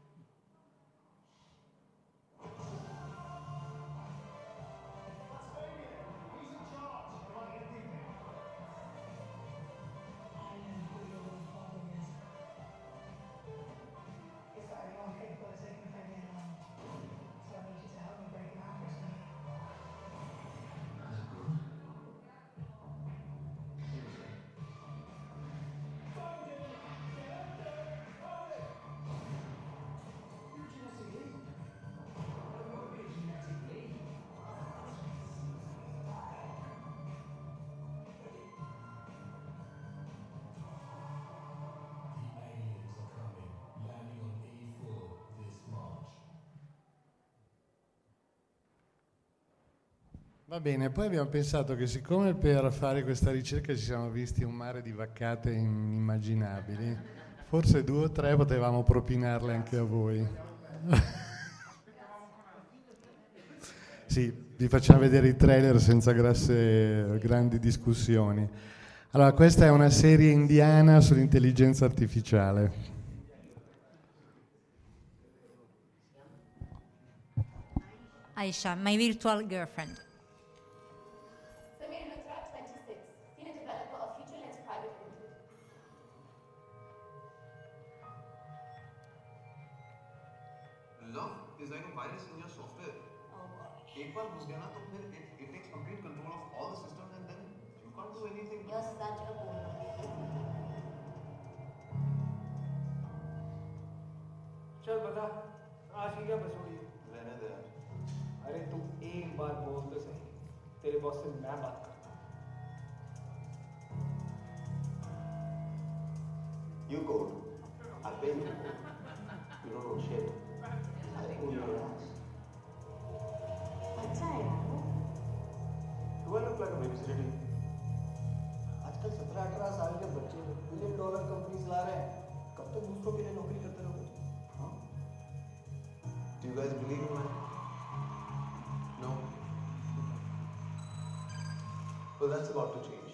That's Fabian. He's in charge. Am I getting him? I know who your real father is. Is that anyone capable of taking Fabian on? So I need you to help me break him out, Kristen. The aliens are coming, landing on E4 this March. Va bene, poi abbiamo pensato che siccome per fare questa ricerca ci siamo visti un mare di vaccate inimmaginabili, forse 2 o 3 potevamo propinarle anche a voi. Sì, vi facciamo vedere i trailer senza grandi discussioni. Allora, questa è una serie indiana sull'intelligenza artificiale. Aisha, my virtual girlfriend. Samir Luthra, 26, senior developer of FutureLens Private Limited. Love is like a virus in your software. एक बार घुस गया ना तो फिर it takes complete control of all the systems and then you can't do anything. You're such a boomer. चल बता आज की क्या बसोड़ी रहने दे यार. अरे तू एक बार बोल तो सही तेरे बॉस से मैं बात करता हूँ. You code. I pay you. You don't know shit. I own your ass. अच्छा है यार वो. Do I look like a babysitter to you? आजकल 17-18 साल के बच्चे $1 बिलियन कंपनीज ला रहे हैं. कब तक दूसरों के लिए नौकरी करते रहोगे? हाँ? Do you guys believe in man? No. Well, that's about to change.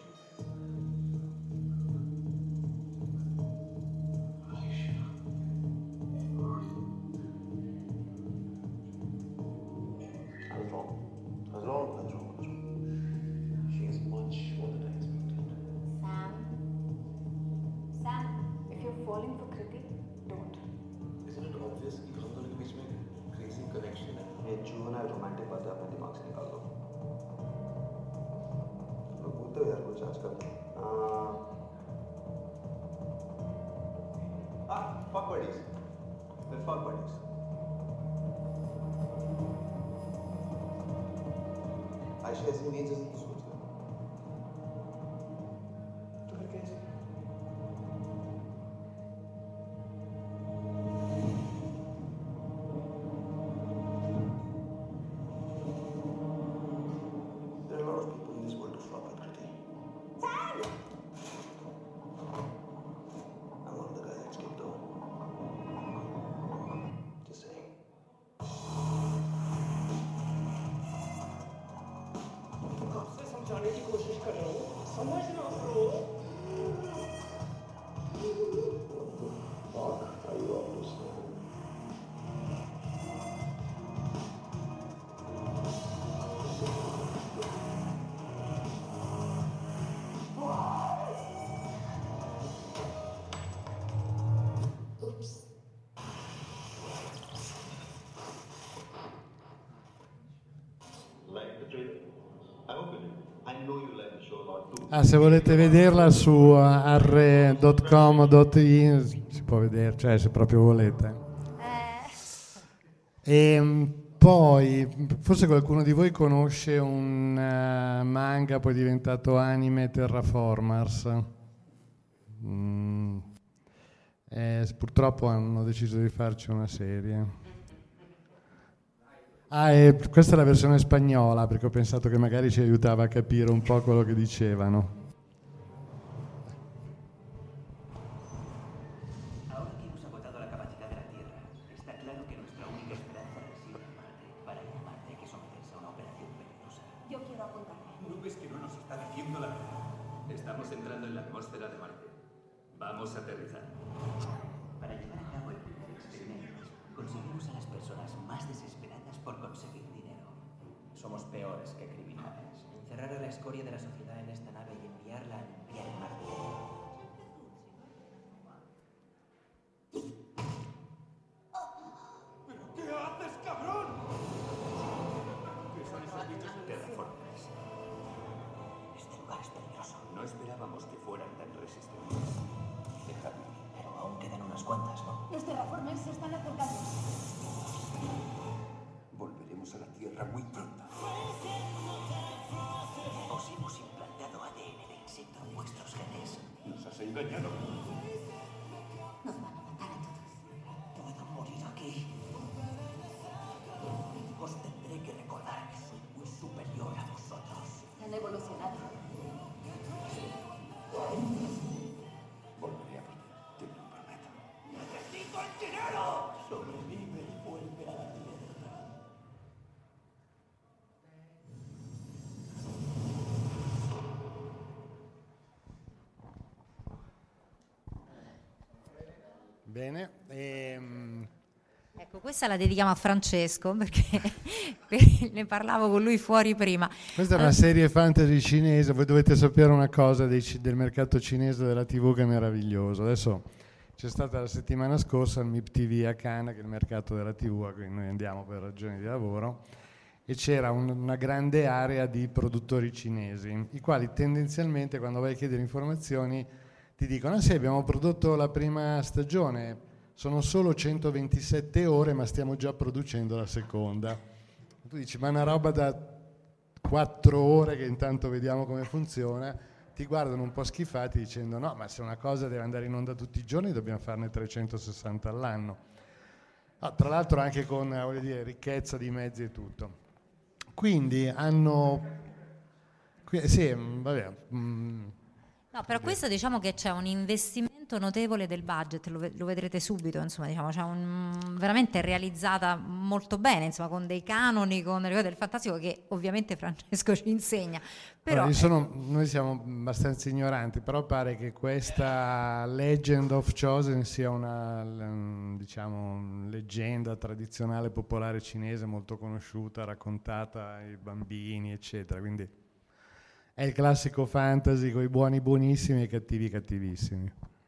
I was wrong. She is much more than I expected. Sam, if you're falling for Kriti, don't. Isn't it obvious कि हम दोनों के बीच में crazy connection है? ये juvenile romantic बातें अपने दिमाग से निकाल दो. लोग बोलते हो यार कुछ आजकल. Fuck buddies. They're fuck buddies. Ayesha ऐसी नहीं जैसे तू सोच रहा है. तो फिर कैसे? There are a lot of people in this world who flop with Kriti. I'm one of the guys that skipped over. Just saying. कब से समझाने की कोशिश कर रहा हूँ. समझना bro. Fuck, are you up to something? Oops. Like the trailer? I hope you did. I know you like the show a lot too. Se volete vederla su arre.com.it si può vedere, cioè se proprio volete. E poi forse qualcuno di voi conosce un manga poi diventato anime, Terraformers. Purtroppo hanno deciso di farci una serie. E questa è la versione spagnola, perché ho pensato che magari ci aiutava a capire un po' quello che dicevano. Ahora que hemos agotado la capacidad de la Tierra, está claro que nuestra única esperanza reside en Marte. Para ir a Marte hay que someterse a una operación peligrosa. Yo quiero apuntarme. ¿No ves que no nos está diciendo la verdad? Estamos entrando en la atmósfera de Marte. Vamos a aterrizar. Para llevar a cabo el primer experimento, conseguimos a las personas más desesperadas por conseguir dinero. Somos peores que criminales. Encerrar a la escoria de la sociedad en esta nave y enviarla a limpiar el Marte. ¿Qué haces, cabrón? ¿Qué son esos bichos terraformers? Este lugar es peligroso. No esperábamos que fueran tan resistentes. Déjame. Pero aún quedan unas cuantas, ¿no? Los terraformers se están acercando. Volveremos a la Tierra muy pronto. Os hemos implantado ADN de insecto en vuestros genes. Nos has engañado. Nos van a matar a todos. Puedo morir aquí. Os tendré que recordar que soy muy superior a vosotros. Han evolucionado. Volveré a por ti, te lo prometo. ¡Necesito el dinero! Sobrevive y vuelve a la Tierra. Bene. Ecco, questa la dedichiamo a Francesco perché ne parlavo con lui fuori prima. Questa è una serie fantasy cinese. Voi dovete sapere una cosa del mercato cinese della TV che è meraviglioso. Adesso c'è stata la settimana scorsa il MIP TV a Cannes, che è il mercato della TV a cui noi andiamo per ragioni di lavoro, e c'era una grande area di produttori cinesi, i quali tendenzialmente quando vai a chiedere informazioni ti dicono: ah sì, abbiamo prodotto la prima stagione, sono solo 127 ore ma stiamo già producendo la seconda. Tu dici: ma una roba da 4 ore che intanto vediamo come funziona. Ti guardano un po' schifati dicendo: no, ma se una cosa deve andare in onda tutti i giorni dobbiamo farne 360 all'anno. Tra l'altro anche con, voglio dire, ricchezza di mezzi e tutto. Quindi hanno... sì, vabbè... No, però questo diciamo che c'è un investimento notevole del budget, lo vedrete subito, insomma, diciamo, c'è veramente realizzata molto bene, insomma, con dei canoni, con le cose del fantastico che ovviamente Francesco ci insegna. Però, noi siamo abbastanza ignoranti, però pare che questa Legend of Chosen sia una, diciamo, leggenda tradizionale popolare cinese molto conosciuta, raccontata ai bambini, eccetera, quindi è il classico fantasy con i buoni buonissimi e i cattivi cattivissimi.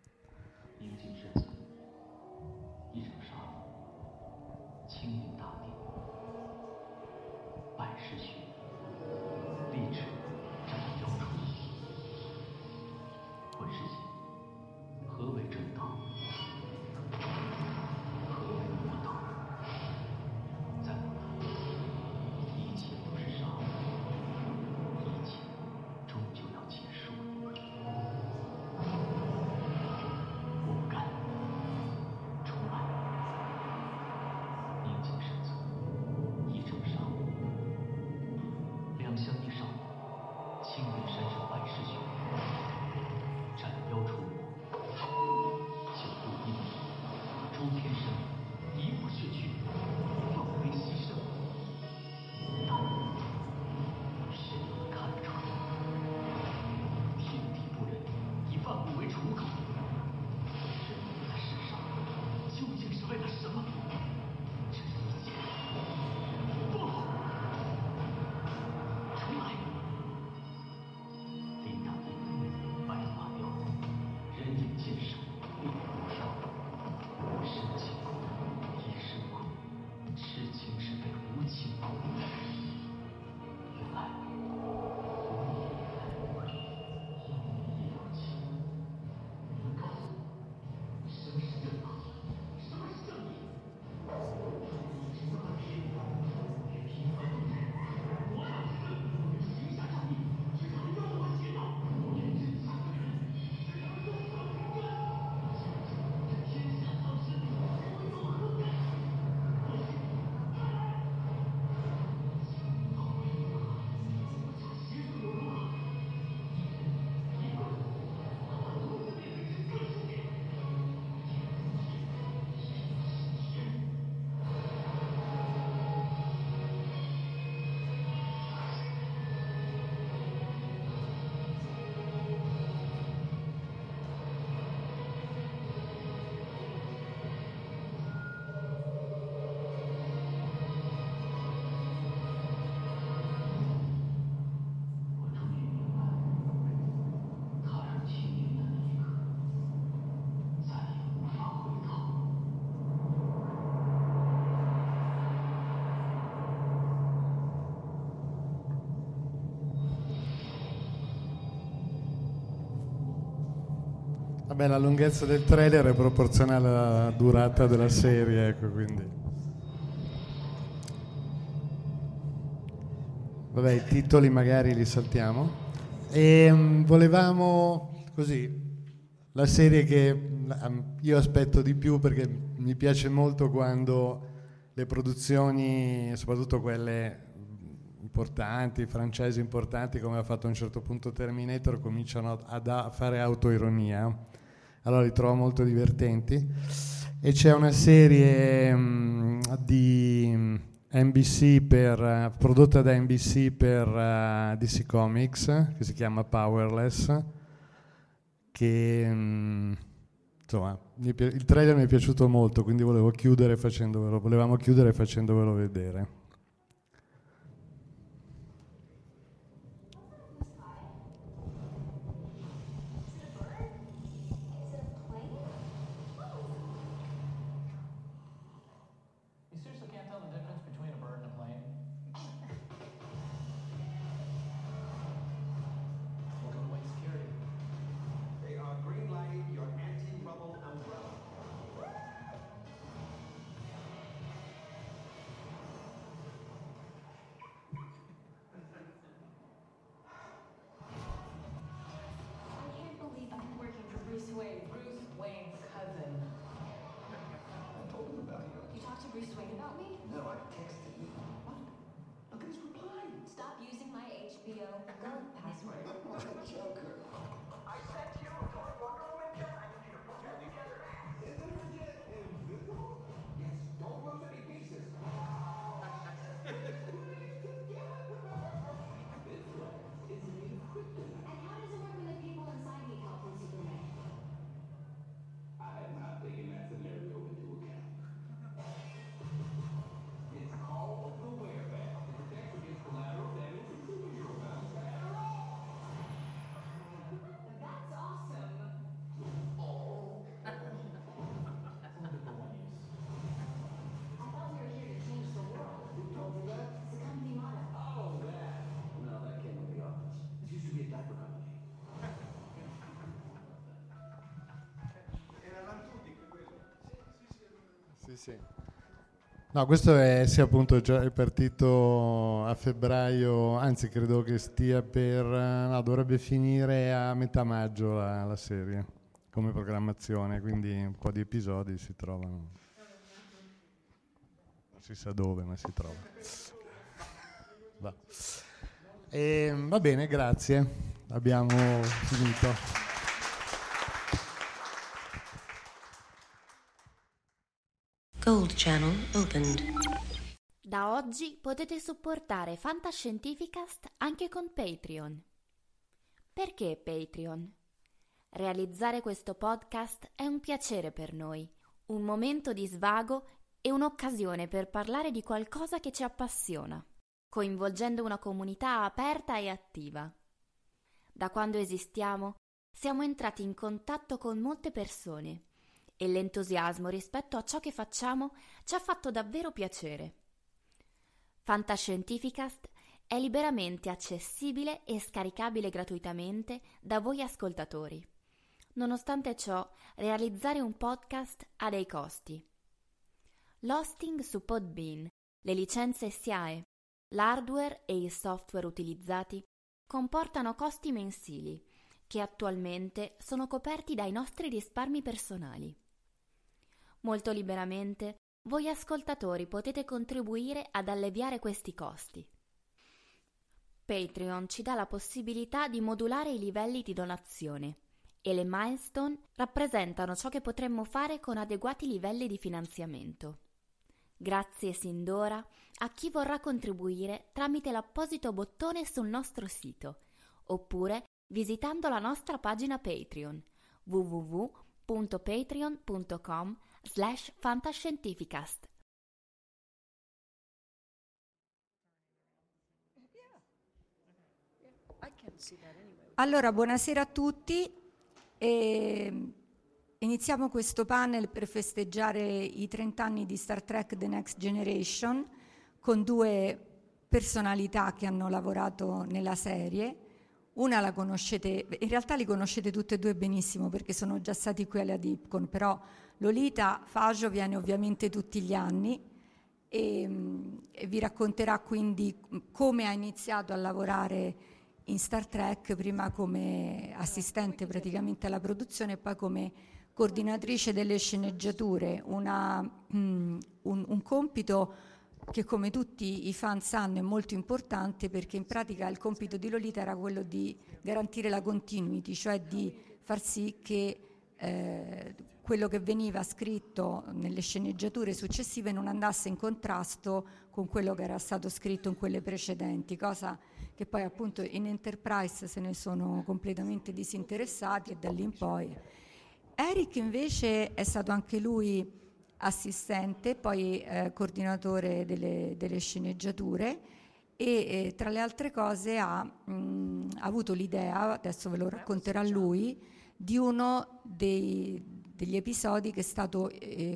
Vabbè, la lunghezza del trailer è proporzionale alla durata della serie, ecco, quindi. Vabbè, i titoli magari li saltiamo. E volevamo, così, la serie che io aspetto di più perché mi piace molto quando le produzioni, soprattutto quelle importanti, franchise importanti, come ha fatto a un certo punto Terminator, cominciano a fare autoironia. Allora li trovo molto divertenti. E c'è una serie di NBC prodotta da NBC per DC Comics, che si chiama Powerless, che insomma, il trailer mi è piaciuto molto, quindi volevamo chiudere facendovelo vedere. You seriously can't tell the difference between a bird and a plane? Welcome to Wayne Security. They are green lighting your anti-rubble umbrella. I can't believe I'm working for Bruce Wayne. Bruce Wayne's cousin. I told him about you. You talked to Bruce Wayne about me? No, I texted you. What? Look at his reply. Stop using my HBO Go password. What a joker. I sent you a Wonder Woman kit. I need you to put that together. Isn't her jet invisible? Yes, don't lose any pieces. And how does it work when the people inside need help from Superman? I have not taken that scenario into account. It's called the Wear Bag. It protects against collateral damage and superhero bounce back. That's awesome. I thought we were here to change the world. Who told you that? It's the company motto. Oh, that. No, that came from the office. This used to be a diaper company. Erano tutti quello. Sì, sì. No, questo è appunto già è partito a febbraio, anzi credo che stia dovrebbe finire a metà maggio la serie come programmazione, quindi un po' di episodi si trovano. Non si sa dove, ma si trova. Va bene, grazie. Abbiamo finito. Gold Channel opened. Da oggi potete supportare Fantascientificast anche con Patreon. Perché Patreon? Realizzare questo podcast è un piacere per noi, un momento di svago e un'occasione per parlare di qualcosa che ci appassiona, coinvolgendo una comunità aperta e attiva. Da quando esistiamo, siamo entrati in contatto con molte persone e l'entusiasmo rispetto a ciò che facciamo ci ha fatto davvero piacere. Fantascientificast è liberamente accessibile e scaricabile gratuitamente da voi ascoltatori. Nonostante ciò, realizzare un podcast ha dei costi. L'hosting su Podbean, le licenze SIAE, l'hardware e il software utilizzati comportano costi mensili che attualmente sono coperti dai nostri risparmi personali. Molto liberamente, voi ascoltatori potete contribuire ad alleviare questi costi. Patreon ci dà la possibilità di modulare i livelli di donazione e le milestone rappresentano ciò che potremmo fare con adeguati livelli di finanziamento. Grazie sin d'ora a chi vorrà contribuire tramite l'apposito bottone sul nostro sito oppure visitando la nostra pagina Patreon www.patreon.com/fantascientificast. Allora, buonasera a tutti. Iniziamo questo panel per festeggiare i 30 anni di Star Trek The Next Generation con due personalità che hanno lavorato nella serie. Una la conoscete, in realtà li conoscete tutte e due benissimo perché sono già stati qui alla Dipcon, però Lolita Faggio viene ovviamente tutti gli anni e vi racconterà quindi come ha iniziato a lavorare in Star Trek, prima come assistente praticamente alla produzione e poi come coordinatrice delle sceneggiature, un compito che come tutti i fan sanno è molto importante, perché in pratica il compito di Lolita era quello di garantire la continuity, cioè di far sì che quello che veniva scritto nelle sceneggiature successive non andasse in contrasto con quello che era stato scritto in quelle precedenti, cosa che poi appunto in Enterprise se ne sono completamente disinteressati e da lì in poi. Eric invece è stato anche lui assistente, poi coordinatore delle sceneggiature e tra le altre cose ha avuto l'idea, adesso ve lo racconterà lui, di uno degli episodi che è stata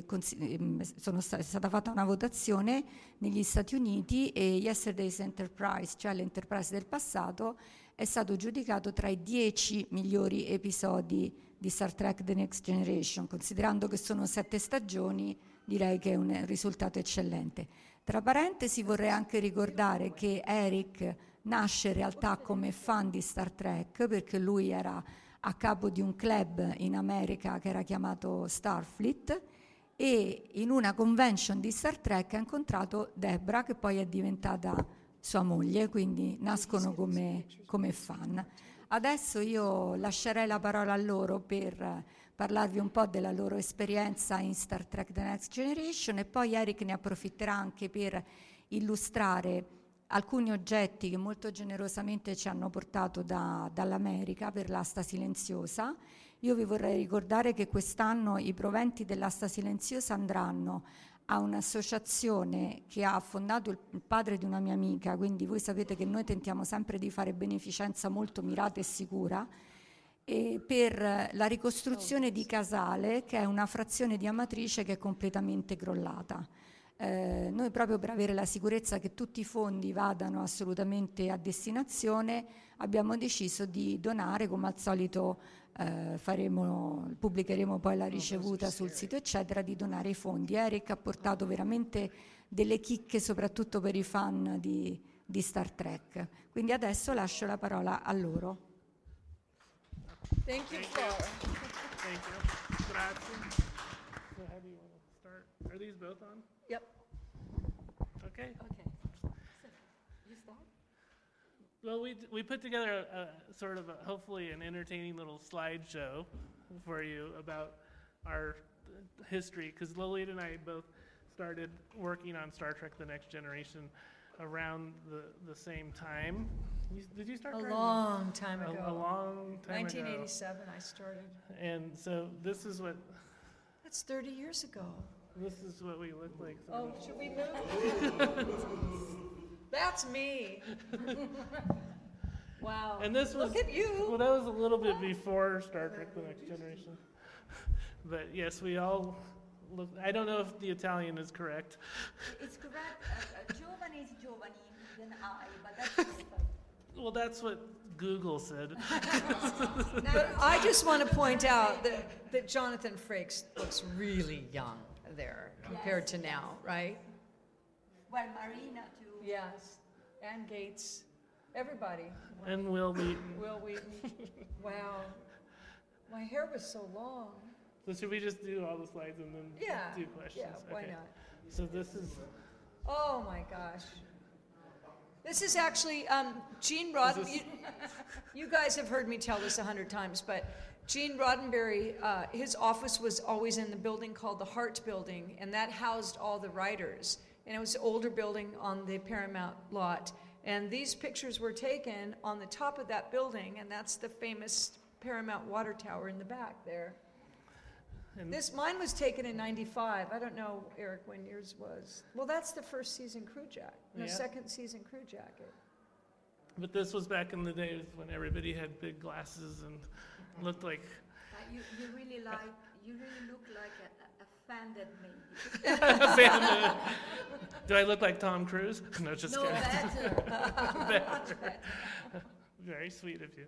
fatta una votazione negli Stati Uniti e Yesterday's Enterprise, cioè l'Enterprise del passato, è stato giudicato tra i 10 migliori episodi di Star Trek The Next Generation. Considerando che sono 7 stagioni, direi che è un risultato eccellente. Tra parentesi vorrei anche ricordare che Eric nasce in realtà come fan di Star Trek, perché lui era a capo di un club in America che era chiamato Starfleet, e in una convention di Star Trek ha incontrato Deborah, che poi è diventata sua moglie, quindi nascono come fan. Adesso io lascerei la parola a loro per parlarvi un po' della loro esperienza in Star Trek The Next Generation, e poi Eric ne approfitterà anche per illustrare alcuni oggetti che molto generosamente ci hanno portato dall'America per l'asta silenziosa. Io vi vorrei ricordare che quest'anno i proventi dell'asta silenziosa andranno a un'associazione che ha fondato il padre di una mia amica, quindi voi sapete che noi tentiamo sempre di fare beneficenza molto mirata e sicura, e per la ricostruzione di Casale, che è una frazione di Amatrice che è completamente crollata. Noi, proprio per avere la sicurezza che tutti i fondi vadano assolutamente a destinazione, abbiamo deciso di donare, come al solito pubblicheremo poi la ricevuta sul sito eccetera, di donare i fondi. Eric ha portato veramente delle chicche soprattutto per i fan di Star Trek, quindi adesso lascio la parola a loro. Thank you. Thank you. Grazie. So how do you want to start? Are these both on? Yep. Okay. Okay. So, you start? Well, we put together a sort of hopefully an entertaining little slideshow for you about our history, because Lolita and I both started working on Star Trek The Next Generation around the same time. Did you start? A long time ago. A long time 1987 I started. And so this is what... That's 30 years ago. This is what we look like. Oh, should we move? That's me. Wow. And this was, look at you. Well, that was a little bit before Star Trek The Next Generation. But yes, we all look, I don't know if the Italian is correct. It's correct. Giovani is giovani than I, but that's well, that's what Google said. But I just want to point out that Jonathan Frakes looks really young there compared to now, right? Well, Marina too. Yes, and Gates, everybody. And Will Wheaton. Will Wheaton. Wow. My hair was so long. So should we just do all the slides and then do questions? Yeah, why not? So this is... Oh my gosh. This is actually Gene Roddenberry. You guys have heard me tell this 100 times, but Gene Roddenberry, his office was always in the building called the Hart Building, and that housed all the writers. And it was an older building on the Paramount lot. And these pictures were taken on the top of that building, and that's the famous Paramount water tower in the back there. And mine was taken in '95. I don't know, Eric, when yours was. Well, that's the first season crew jacket, the second season crew jacket. But this was back in the days when everybody had big glasses and looked like... You really look like a fan that made Do I look like Tom Cruise? No, just no, kidding. Better. Much better. Very sweet of you.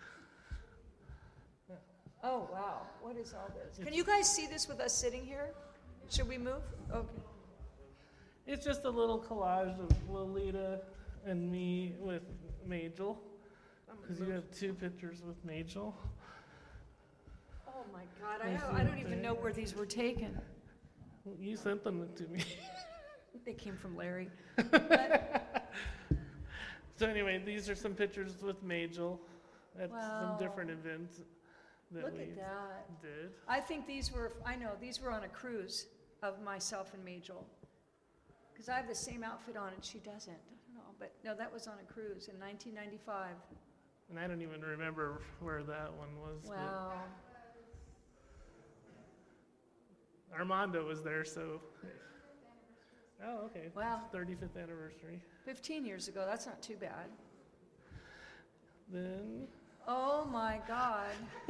Oh, wow. What is all this? Can you guys see this with us sitting here? Should we move? Okay. It's just a little collage of Lolita and me with Majel, because you have two pictures with Majel. Oh my God, I don't even know where these were taken. You sent them to me. They came from Larry. So anyway, these are some pictures with Majel at some different events that Look we at that. did. I think these were on a cruise of myself and Majel. Because I have the same outfit on and she doesn't. I don't know, but no, that was on a cruise in 1995. And I don't even remember where that one was. Wow. Armando was there, so. Oh, okay. Wow. 35th anniversary. 15 years ago, that's not too bad. Then. Oh my God.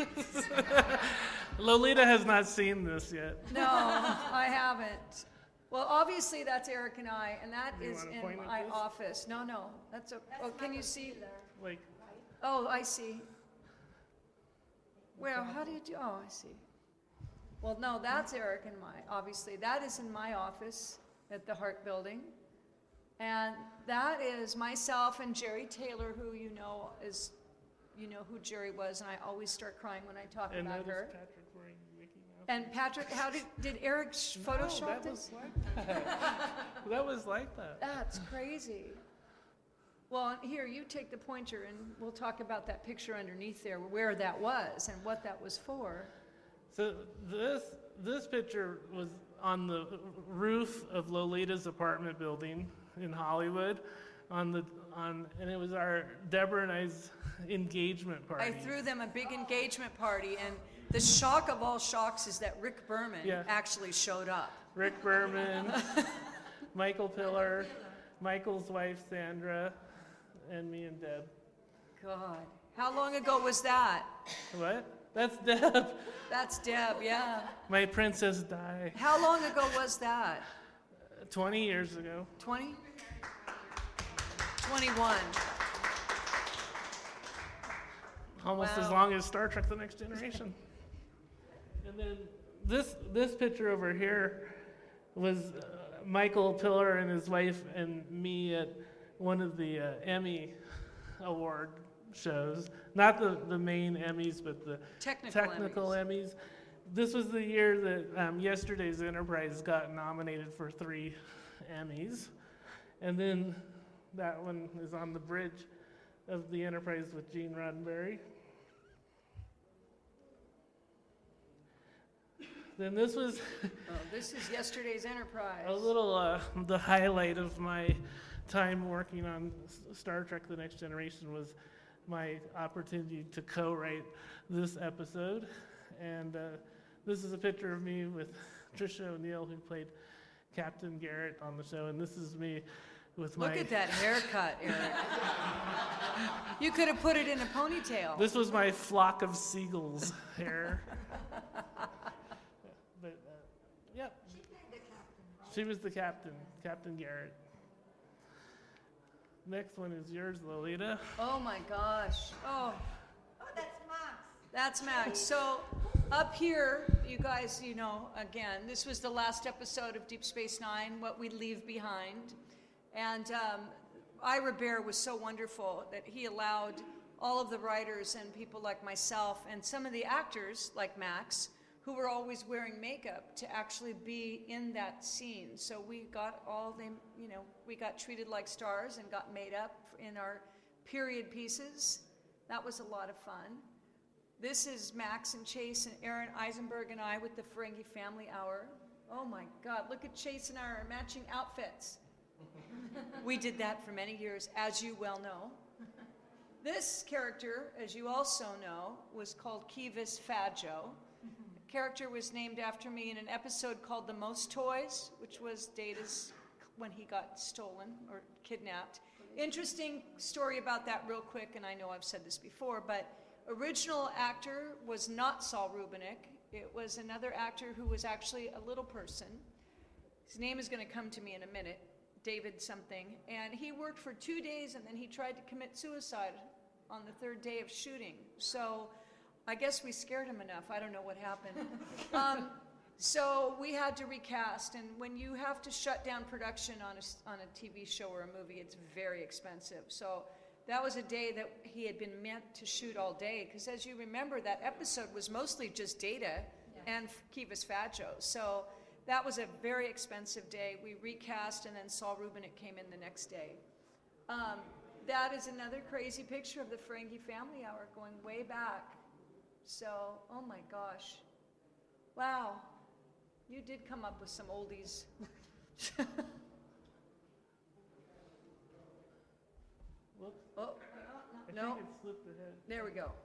Lolita has not seen this yet. No, I haven't. Well, obviously that's Eric and I, and that Do you is wanna in point at my this? office. No, that's a. Oh, can you see? Like. Oh, I see. Well, how do you do? Oh, I see. Well, no, that's Eric and obviously. That is in my office at the Hart Building. And that is myself and Jerry Taylor, who you know who Jerry was, and I always start crying when I talk And about that her. is Patrick wearing Mickey Mouse. And Patrick, how did Eric Photoshop that this? was like that. That was like that. That's crazy. Well, here, you take the pointer and we'll talk about that picture underneath there, where that was and what that was for. So this picture was on the roof of Lolita's apartment building in Hollywood, and it was our Deborah and I's engagement party. I threw them a big engagement party, and the shock of all shocks is that Rick Berman actually showed up. Rick Berman, Michael Pillar, Michael's wife Sandra, and me and Deb. God. How long ago was that? What? That's Deb. That's Deb, yeah. My Princess Di. How long ago was that? 20 years ago. 20? 21. Almost Wow. as long as Star Trek: The Next Generation. And then this picture over here was Michael Pillar and his wife and me at one of the Emmy award shows. Not the main Emmys, but the technical Emmys. This was the year that Yesterday's Enterprise got nominated for 3 Emmys. And then that one is on the bridge of the Enterprise with Gene Roddenberry. Then this was This is Yesterday's Enterprise. a little the highlight of my time working on Star Trek: The Next Generation was my opportunity to co-write this episode. And this is a picture of me with Tricia O'Neill, who played Captain Garrett on the show. And this is me with my... Look at that haircut, Eric. You could have put it in a ponytail. This was my flock of seagulls hair. But, yep. She played the captain, right? She was the captain, Captain Garrett. Next one is yours, Lolita. Oh my gosh. Oh, Oh, that's Max. that's Max. So up here, you guys, again, this was the last episode of Deep Space Nine, What We Leave Behind. And Ira Bear was so wonderful that he allowed all of the writers and people like myself and some of the actors like Max, who were always wearing makeup, to actually be in that scene. So we got we got treated like stars and got made up in our period pieces. That was a lot of fun. This is Max and Chase and Aaron Eisenberg and I with the Ferengi Family Hour. Oh my God, look at Chase and our matching outfits. We did that for many years, as you well know. This character, as you also know, was called Kivas Fadjo. The character was named after me in an episode called The Most Toys, which was Data's when he got stolen or kidnapped. Interesting story about that real quick, and I know I've said this before, but original actor was not Saul Rubinek. It was another actor who was actually a little person. His name is going to come to me in a minute, David something. And he worked for 2 days, and then he tried to commit suicide on the 3rd day of shooting. So I guess we scared him enough. I don't know what happened. So we had to recast, and when you have to shut down production on a TV show or a movie, it's very expensive. So that was a day that he had been meant to shoot all day, because as you remember, that episode was mostly just Data and Kivas Fadjo. So that was a very expensive day. We recast, and then Saul Rubinek came in the next day. That is another crazy picture of the Ferengi Family Hour going way back. So, oh my gosh. Wow. You did come up with some oldies. Whoops. Oh, I no. think it slipped ahead. There we go.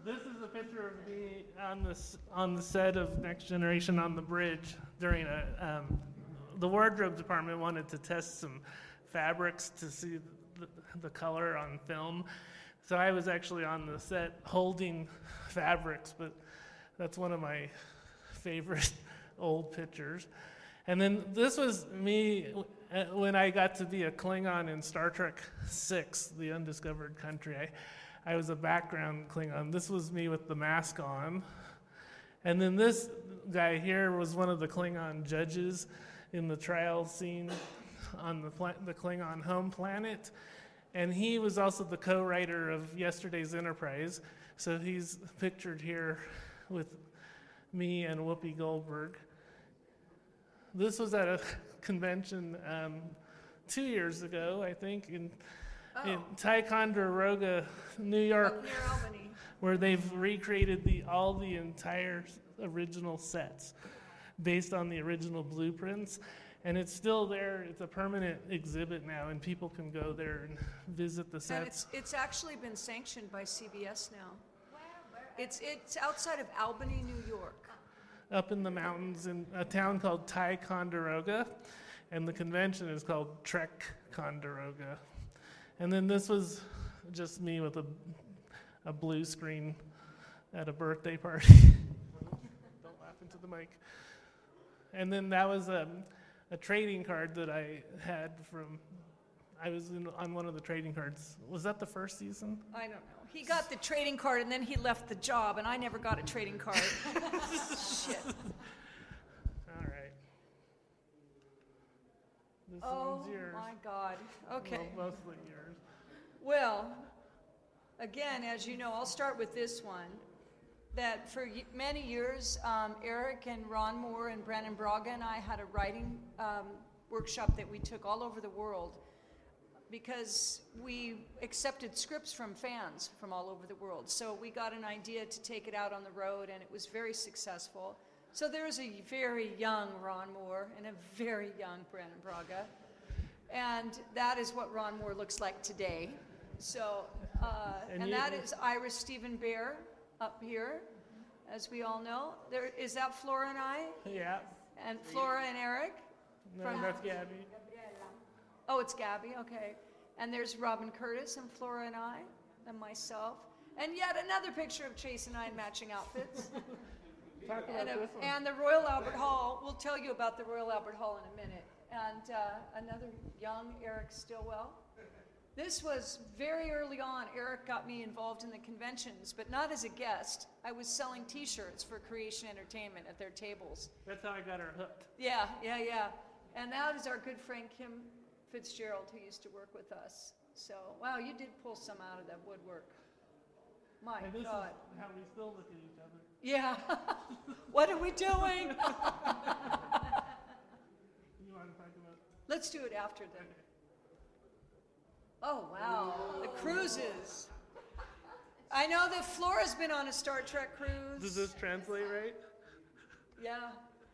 This is a picture of me on the set of Next Generation on the bridge during the wardrobe department wanted to test some fabrics to see the color on film. So I was actually on the set holding fabrics, but that's one of my favorite old pictures. And then this was me when I got to be a Klingon in Star Trek VI, The Undiscovered Country. I was a background Klingon. This was me with the mask on. And then this guy here was one of the Klingon judges in the trial scene on the Klingon home planet. And he was also the co-writer of Yesterday's Enterprise. So he's pictured here with me and Whoopi Goldberg. This was at a convention 2 years ago, I think, in Ticonderoga, New York, Up near Albany. where they've recreated all the entire original sets based on the original blueprints. And it's still there. It's a permanent exhibit now, and people can go there and visit the sets. And it's actually been sanctioned by CBS now. It's outside of Albany, New York. Up in the mountains in a town called Ticonderoga, and the convention is called Trek-Conderoga. And then this was just me with a blue screen at a birthday party. Don't laugh into the mic. And then that was a trading card that I had I was on one of the trading cards. Was that the first season? I don't know. He got the trading card and then he left the job, and I never got a trading card. Shit. All right. This Oh one's yours. my God. Okay. Well, mostly yours. Well, again, as you know, I'll start with this one. That for many years, Eric and Ron Moore and Brandon Braga and I had a writing workshop that we took all over the world, because we accepted scripts from fans from all over the world. So we got an idea to take it out on the road, and it was very successful. So there's a very young Ron Moore and a very young Brandon Braga. And that is what Ron Moore looks like today. So, and that is Iris Stephen Bear up here, as we all know. Is that Flora and I? Yeah. And Flora and Eric? No, that's Gabby. Oh, it's Gabby, okay. And there's Robin Curtis and Flora and I, and myself. And yet another picture of Chase and I in matching outfits. Talk about this one. And the Royal Albert Hall. We'll tell you about the Royal Albert Hall in a minute. And another young Eric Stillwell. This was very early on. Eric got me involved in the conventions, but not as a guest. I was selling T-shirts for Creation Entertainment at their tables. That's how I got her hooked. Yeah. And that is our good friend Kim Fitzgerald, who used to work with us. So, wow, you did pull some out of that woodwork. My and this God. is how we still look at each other. Yeah. What are we doing? You want to talk about? Let's do it after then. Oh, wow. The cruises. I know that Flora's been on a Star Trek cruise. Does this translate right? Yeah.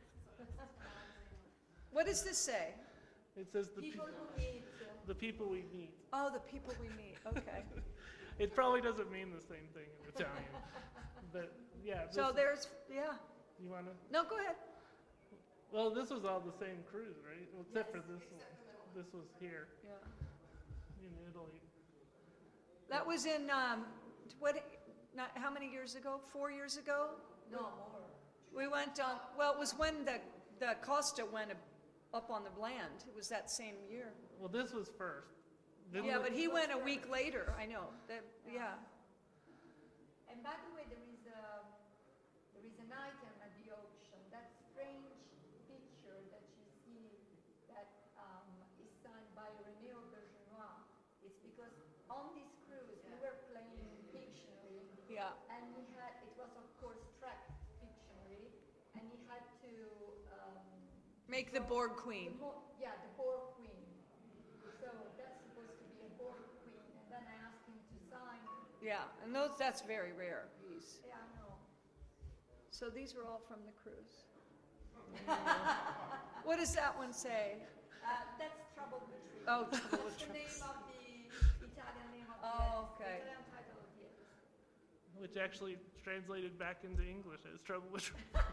What does this say? It says the People who meet. The people we meet. Oh, the people we meet. Okay. It probably doesn't mean the same thing in Italian. But yeah. So there's, yeah. You want to? No, go ahead. Well, this was all the same cruise, right? Well, except for this one. This was here. Yeah. In Italy. That was in, how many years ago? 4 years ago? No, more. We went on, well, it was when the Costa went up on the land. It was that same year. Well, this was first. Yeah, but he went a week later. I know. Yeah. And by the way, there is an item at the auction. That strange picture that you see that is signed by René Aubergenois. It's because on this cruise we were playing Pictionary. Yeah. And it was of course tracked Pictionary, and he had to make the Borg Queen. The Borg Queen. So that's supposed to be a Borg Queen, and then I asked him to sign. Yeah, and that's very rare piece. Yeah, I know. So these were all from the cruise. What does that one say? That's Trouble with Truth. Oh, Trouble with That's the Truth. name of the Italian name of Oh, okay. the Italian title of the episode. which actually translated back into English as Trouble with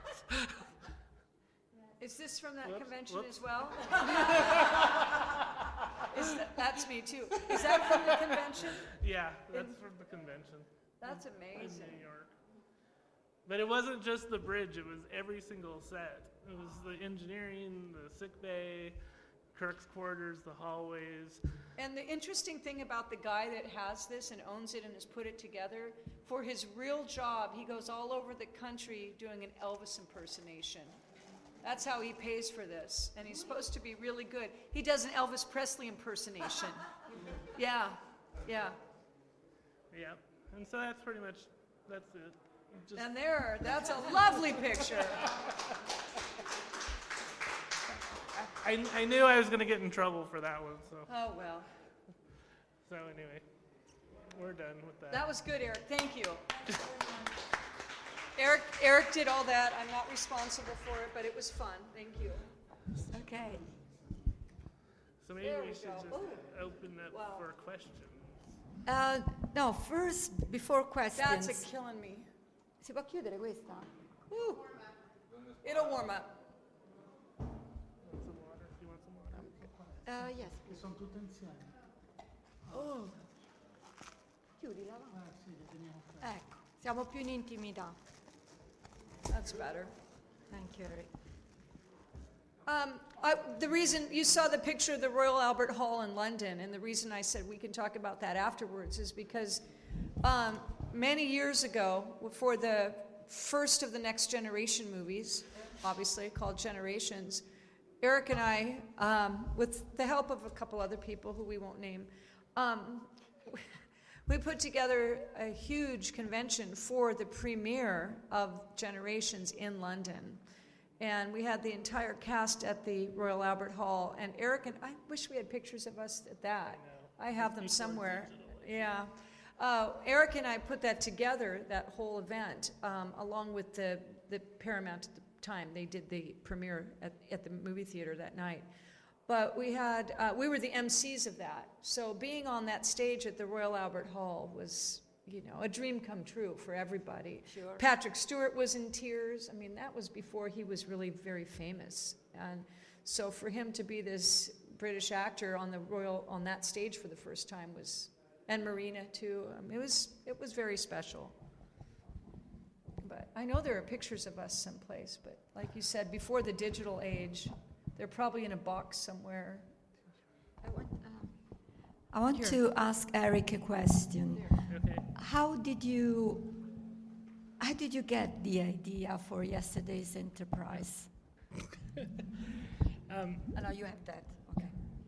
Is this from that Whoops, convention whoops. as well? That's me too. Is that from the convention? Yeah, that's from the convention. That's in amazing. New York. But it wasn't just the bridge, it was every single set. It was the engineering, the sick bay, Kirk's quarters, the hallways. And the interesting thing about the guy that has this and owns it and has put it together, for his real job, he goes all over the country doing an Elvis impersonation. That's how he pays for this. And he's supposed to be really good. He does an Elvis Presley impersonation. Yeah, yeah. Yep. And so that's pretty much, that's it. Just And that's a lovely picture. I knew I was going to get in trouble for that one, so. Oh, well. So anyway, we're done with that. That was good, Eric. Thank you. Eric did all that. I'm not responsible for it, but it was fun. Thank you. Okay. So maybe There we we should go. just Oh. open up for questions. No, first, before questions. That's killing me. Si può chiudere questa? It'll warm up. Some water? Do you want some water? Yes. Che sono tutte insieme. Oh. Chiudila, va. Sì, le teniamo qua. Ecco, siamo più in intimità. That's better. Thank you, Eric. The reason you saw the picture of the Royal Albert Hall in London, and the reason I said we can talk about that afterwards is because many years ago, for the first of the Next Generation movies, obviously called Generations, Eric and I, with the help of a couple other people who we won't name, we put together a huge convention for the premiere of Generations in London. And we had the entire cast at the Royal Albert Hall. And Eric and I wish we had pictures of us at that. I have them somewhere. Yeah. Eric and I put that together, that whole event, along with the Paramount at the time. They did the premiere at the movie theater that night. But we were the MCs of that. So being on that stage at the Royal Albert Hall was, a dream come true for everybody. Sure. Patrick Stewart was in tears. I mean, that was before he was really very famous. And so for him to be this British actor on that stage for the first time was, and Marina too, it was very special. But I know there are pictures of us someplace, but like you said, before the digital age, they're probably in a box somewhere. I want to ask Eric a question. Okay. How did you get the idea for Yesterday's Enterprise? No, you have that. Okay.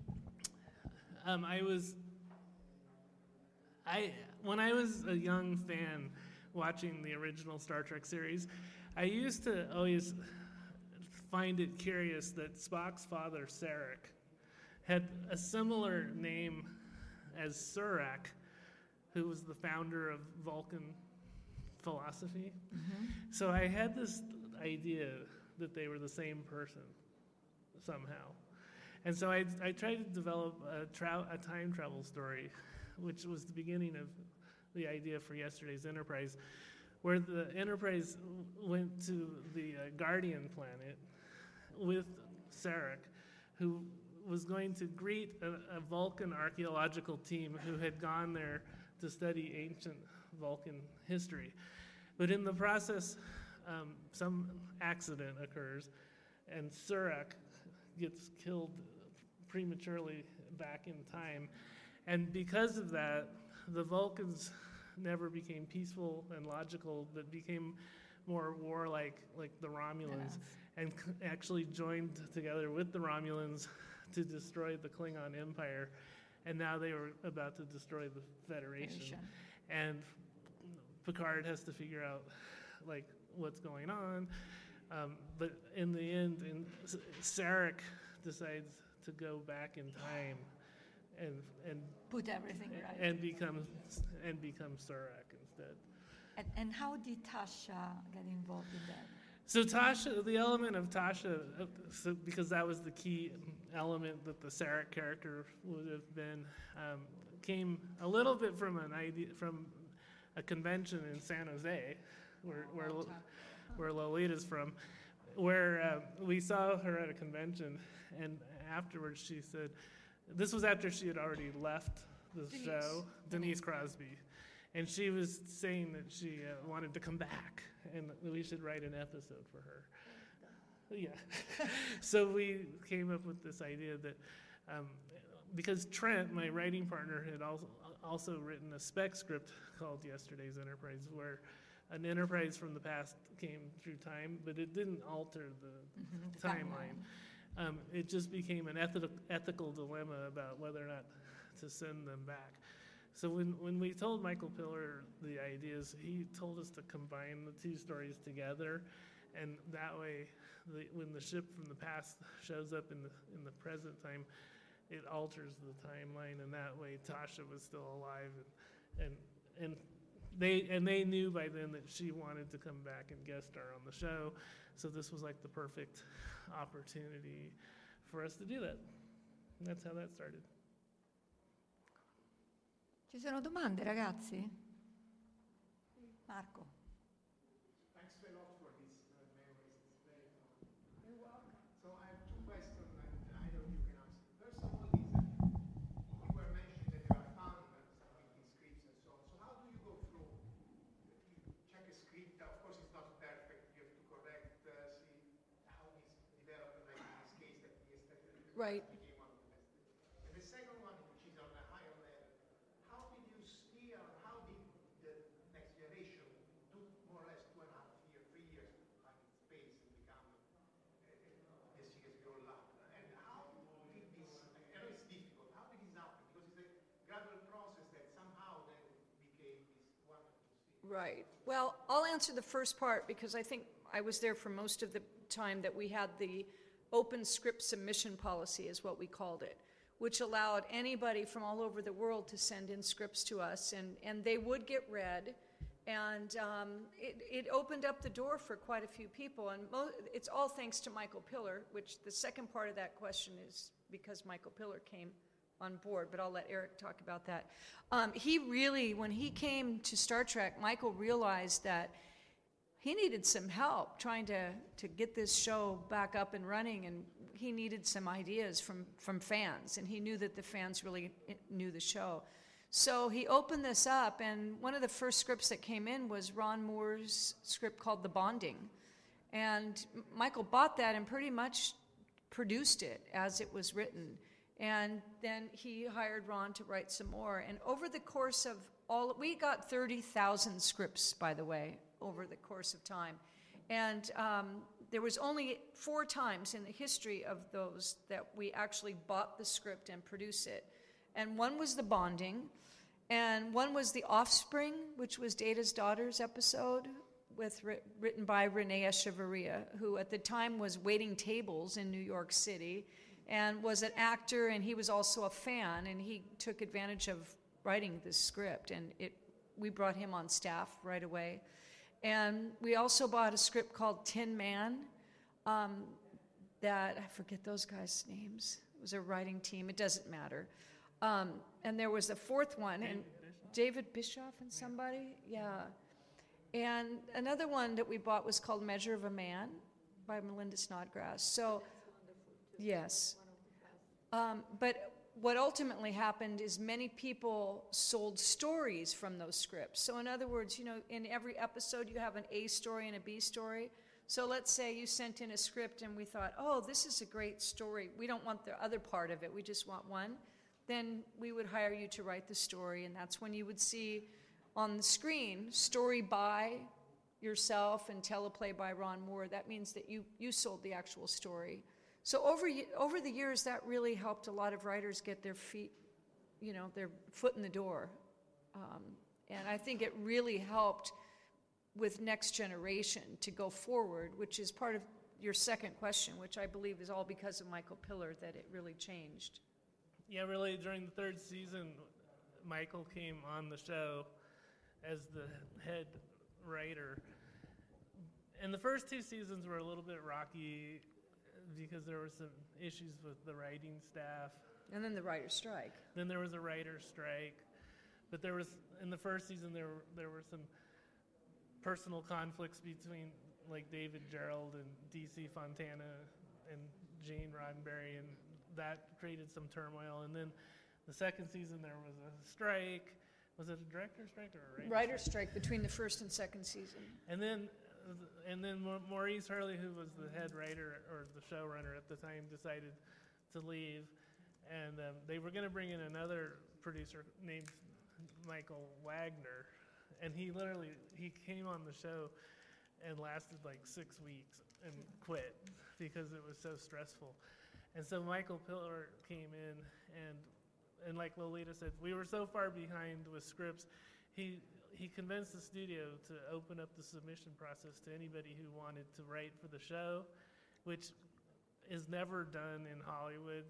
When I was a young fan watching the original Star Trek series, I used to always find it curious that Spock's father, Sarek, had a similar name as Surak, who was the founder of Vulcan philosophy. Mm-hmm. So I had this idea that they were the same person somehow. And so I tried to develop a time travel story, which was the beginning of the idea for Yesterday's Enterprise, where the Enterprise went to the Guardian planet with Sarek, who was going to greet a Vulcan archaeological team who had gone there to study ancient Vulcan history. But in the process, some accident occurs, and Surak gets killed prematurely back in time. And because of that, the Vulcans never became peaceful and logical, but became more warlike, like the Romulans, and actually joined together with the Romulans to destroy the Klingon Empire. And now they were about to destroy the Federation. And Picard has to figure out, like, what's going on. But in the end, Sarek decides to go back in time and put everything right and become Surak instead. And how did Tasha get involved in that? So Tasha, the element of Tasha, because that was the key element that the Sarek character would have been, came a little bit from an idea, from a convention in San Jose, where Lolita's from, where we saw her at a convention, and afterwards she said, this was after she had already left the show, Denise Crosby, and she was saying that she wanted to come back, and we should write an episode for her. Yeah. So we came up with this idea that because Trent, my writing partner, had also written a spec script called Yesterday's Enterprise, where an enterprise from the past came through time, but it didn't alter the timeline. It just became an ethical dilemma about whether or not to send them back. So when we told Michael Piller the ideas, he told us to combine the two stories together, and that way, when the ship from the past shows up in the present time, it alters the timeline, and that way Tasha was still alive, and they knew by then that she wanted to come back and guest star on the show, so this was like the perfect opportunity for us to do that. And that's how that started. Ci sono domande, ragazzi? Marco. Thanks a lot for this memories. It's very fun. You're welcome. So I have two questions, and either of you can answer. First of all, you were mentioning that there are fans submitting scripts and so on. So how do you go through? You check a script. Of course, it's not perfect. You have to correct, see how it's developed. Like in this case, that the aesthetic Right. became one of the best. And the second one, which is on a higher level, how did you steer? How did the next generation do more or less 2.5 years, 3 years to find its space and become the series grow up? And how did this? I know it's difficult. How did this happen? Because it's a gradual process that somehow then became this wonderful series. Right. Well, I'll answer the first part because I think I was there for most of the time that we had the open script submission policy, is what we called it, which allowed anybody from all over the world to send in scripts to us, and they would get read, and it opened up the door for quite a few people, and it's all thanks to Michael Piller, which the second part of that question is because Michael Piller came on board, but I'll let Eric talk about that. He really, when he came to Star Trek, Michael realized that he needed some help trying to get this show back up and running, and he needed some ideas from fans, and he knew that the fans really knew the show. So he opened this up, and one of the first scripts that came in was Ron Moore's script called The Bonding. And Michael bought that and pretty much produced it as it was written. And then he hired Ron to write some more. And over the course of we got 30,000 scripts, by the way, over the course of time. And there was only 4 times in the history of those that we actually bought the script and produced it. And one was The Bonding, and one was The Offspring, which was Data's Daughters episode, written by Renee Echevarria, who at the time was waiting tables in New York City and was an actor, and he was also a fan, and he took advantage of writing this script, and we brought him on staff right away. And we also bought a script called Tin Man, that, I forget those guys' names. It was a writing team, it doesn't matter. And there was a fourth one, and David Bischoff and somebody, yeah. And another one that we bought was called Measure of a Man by Melinda Snodgrass. So, yes. But what ultimately happened is many people sold stories from those scripts. So in other words, in every episode you have an A story and a B story. So let's say you sent in a script and we thought, oh, this is a great story. We don't want the other part of it. We just want one. Then we would hire you to write the story, and that's when you would see on the screen, story by yourself and teleplay by Ron Moore. That means that you sold the actual story. So over the years, that really helped a lot of writers get their their foot in the door. And I think it really helped with Next Generation to go forward, which is part of your second question, which I believe is all because of Michael Piller that it really changed. Yeah, really, during the 3rd season, Michael came on the show as the head writer. And the first 2 seasons were a little bit rocky because there were some issues with the writing staff. And then the writer's strike. Then there was a writer's strike. But there was, in the first season, there were some personal conflicts between like David Gerald and DC Fontana and Gene Roddenberry, and that created some turmoil. And then the second season there was a strike. Was it a director's strike or a writer's strike between the first and second season? And then Maurice Hurley, who was the head writer or the showrunner at the time, decided to leave, and they were going to bring in another producer named Michael Wagner, and he came on the show and lasted like 6 weeks and quit because it was so stressful. And so Michael Piller came in, and like Lolita said, we were so far behind with scripts. He convinced the studio to open up the submission process to anybody who wanted to write for the show, which is never done in Hollywood.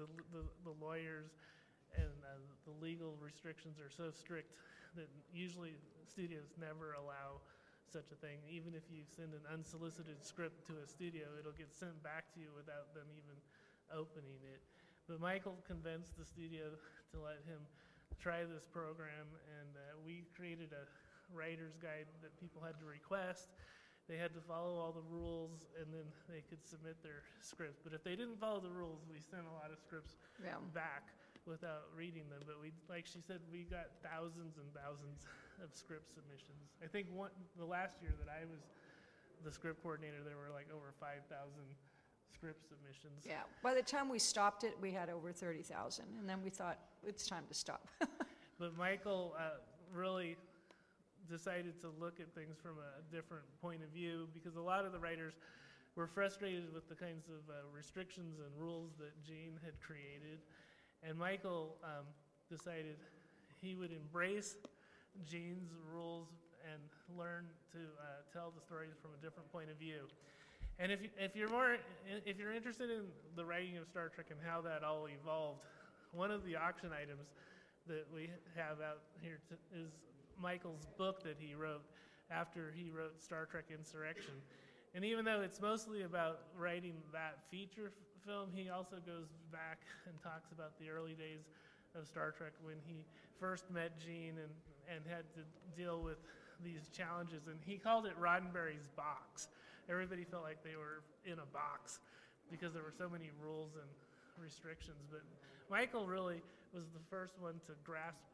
The lawyers and the legal restrictions are so strict that usually studios never allow such a thing. Even if you send an unsolicited script to a studio, it'll get sent back to you without them even opening it. But Michael convinced the studio to let him try this program, and we created a writer's guide that people had to request. They had to follow all the rules, and then they could submit their scripts. But if they didn't follow the rules, we sent a lot of scripts back without reading them. But like she said, we got thousands and thousands of script submissions. I think the last year that I was the script coordinator, there were like over 5,000 script submissions. Yeah, by the time we stopped it, we had over 30,000, and then we thought, it's time to stop. But Michael really decided to look at things from a different point of view, because a lot of the writers were frustrated with the kinds of restrictions and rules that Gene had created. And Michael decided he would embrace Gene's rules and learn to tell the stories from a different point of view. And if you're interested in the writing of Star Trek and how that all evolved, one of the auction items that we have out here is Michael's book that he wrote after he wrote Star Trek Insurrection. And even though it's mostly about writing that feature film, he also goes back and talks about the early days of Star Trek when he first met Gene and had to deal with these challenges. And he called it Roddenberry's box. Everybody felt like they were in a box because there were so many rules and restrictions. But Michael really was the first one to grasp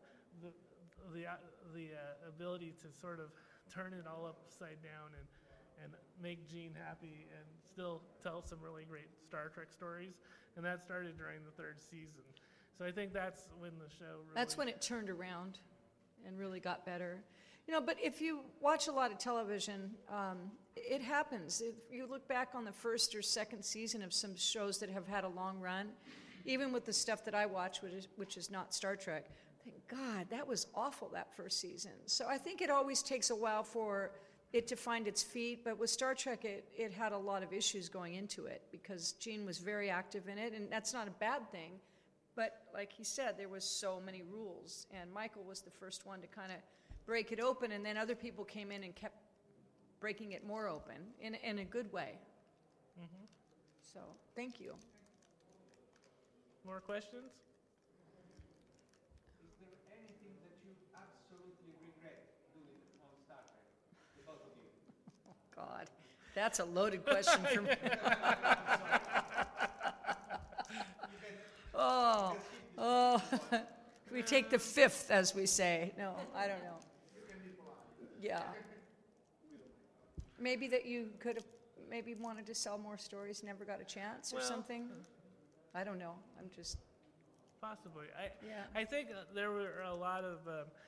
the ability to sort of turn it all upside down and make Gene happy and still tell some really great Star Trek stories. And that started during the third season. So I think that's when the show really... That's when it turned around and really got better. You know, but if you watch a lot of television, it happens. If you look back on the first or second season of some shows that have had a long run, even with the stuff that I watch, which is not Star Trek, thank God, that was awful, that first season. So I think it always takes a while for it to find its feet, but with Star Trek, it had a lot of issues going into it because Gene was very active in it, and that's not a bad thing. But like he said, there was so many rules, and Michael was the first one to kind of break it open, and then other people came in and kept breaking it more open in a good way. Mm-hmm. So, thank you. More questions? Is there anything that you absolutely regret doing on Star Trek, the both of you? Oh, God. That's a loaded question for me. Oh. We take the fifth, as we say. No, I don't know. Yeah. Maybe that you could have maybe wanted to sell more stories, never got a chance or something. I don't know. I'm just... Possibly. I think there were a lot of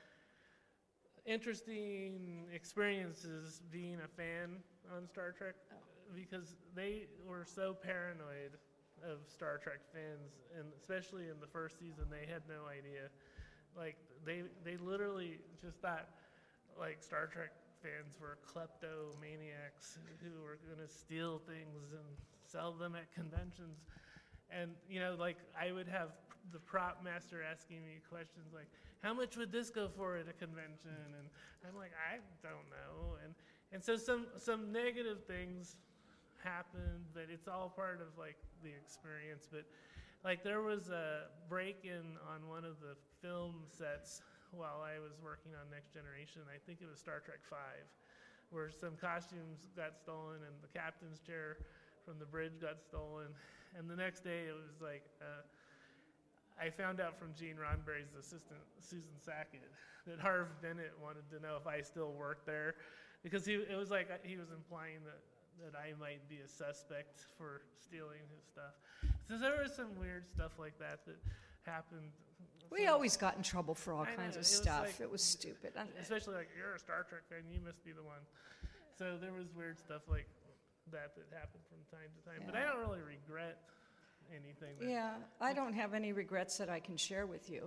interesting experiences being a fan on Star Trek because they were so paranoid of Star Trek fans, and especially in the first season, they had no idea. Like, they literally just thought, like, Star Trek fans were kleptomaniacs who were going to steal things and sell them at conventions. And, you know, like, I would have the prop master asking me questions like, how much would this go for at a convention? And I'm like, I don't know. And so some negative things happened, but it's all part of, like, the experience. But, like, there was a break-in on one of the film sets while I was working on Next Generation. I think it was Star Trek V, where some costumes got stolen and the captain's chair from the bridge got stolen. And the next day it was like, I found out from Gene Roddenberry's assistant, Susan Sackett, that Harv Bennett wanted to know if I still worked there, because it was like he was implying that I might be a suspect for stealing his stuff. So there was some weird stuff like that happened. We always got in trouble for all kinds of stuff. Like, it was stupid. Especially like, you're a Star Trek fan, you must be the one. So there was weird stuff like that happened from time to time. But I don't really regret anything. Yeah, I don't have any regrets that I can share with you.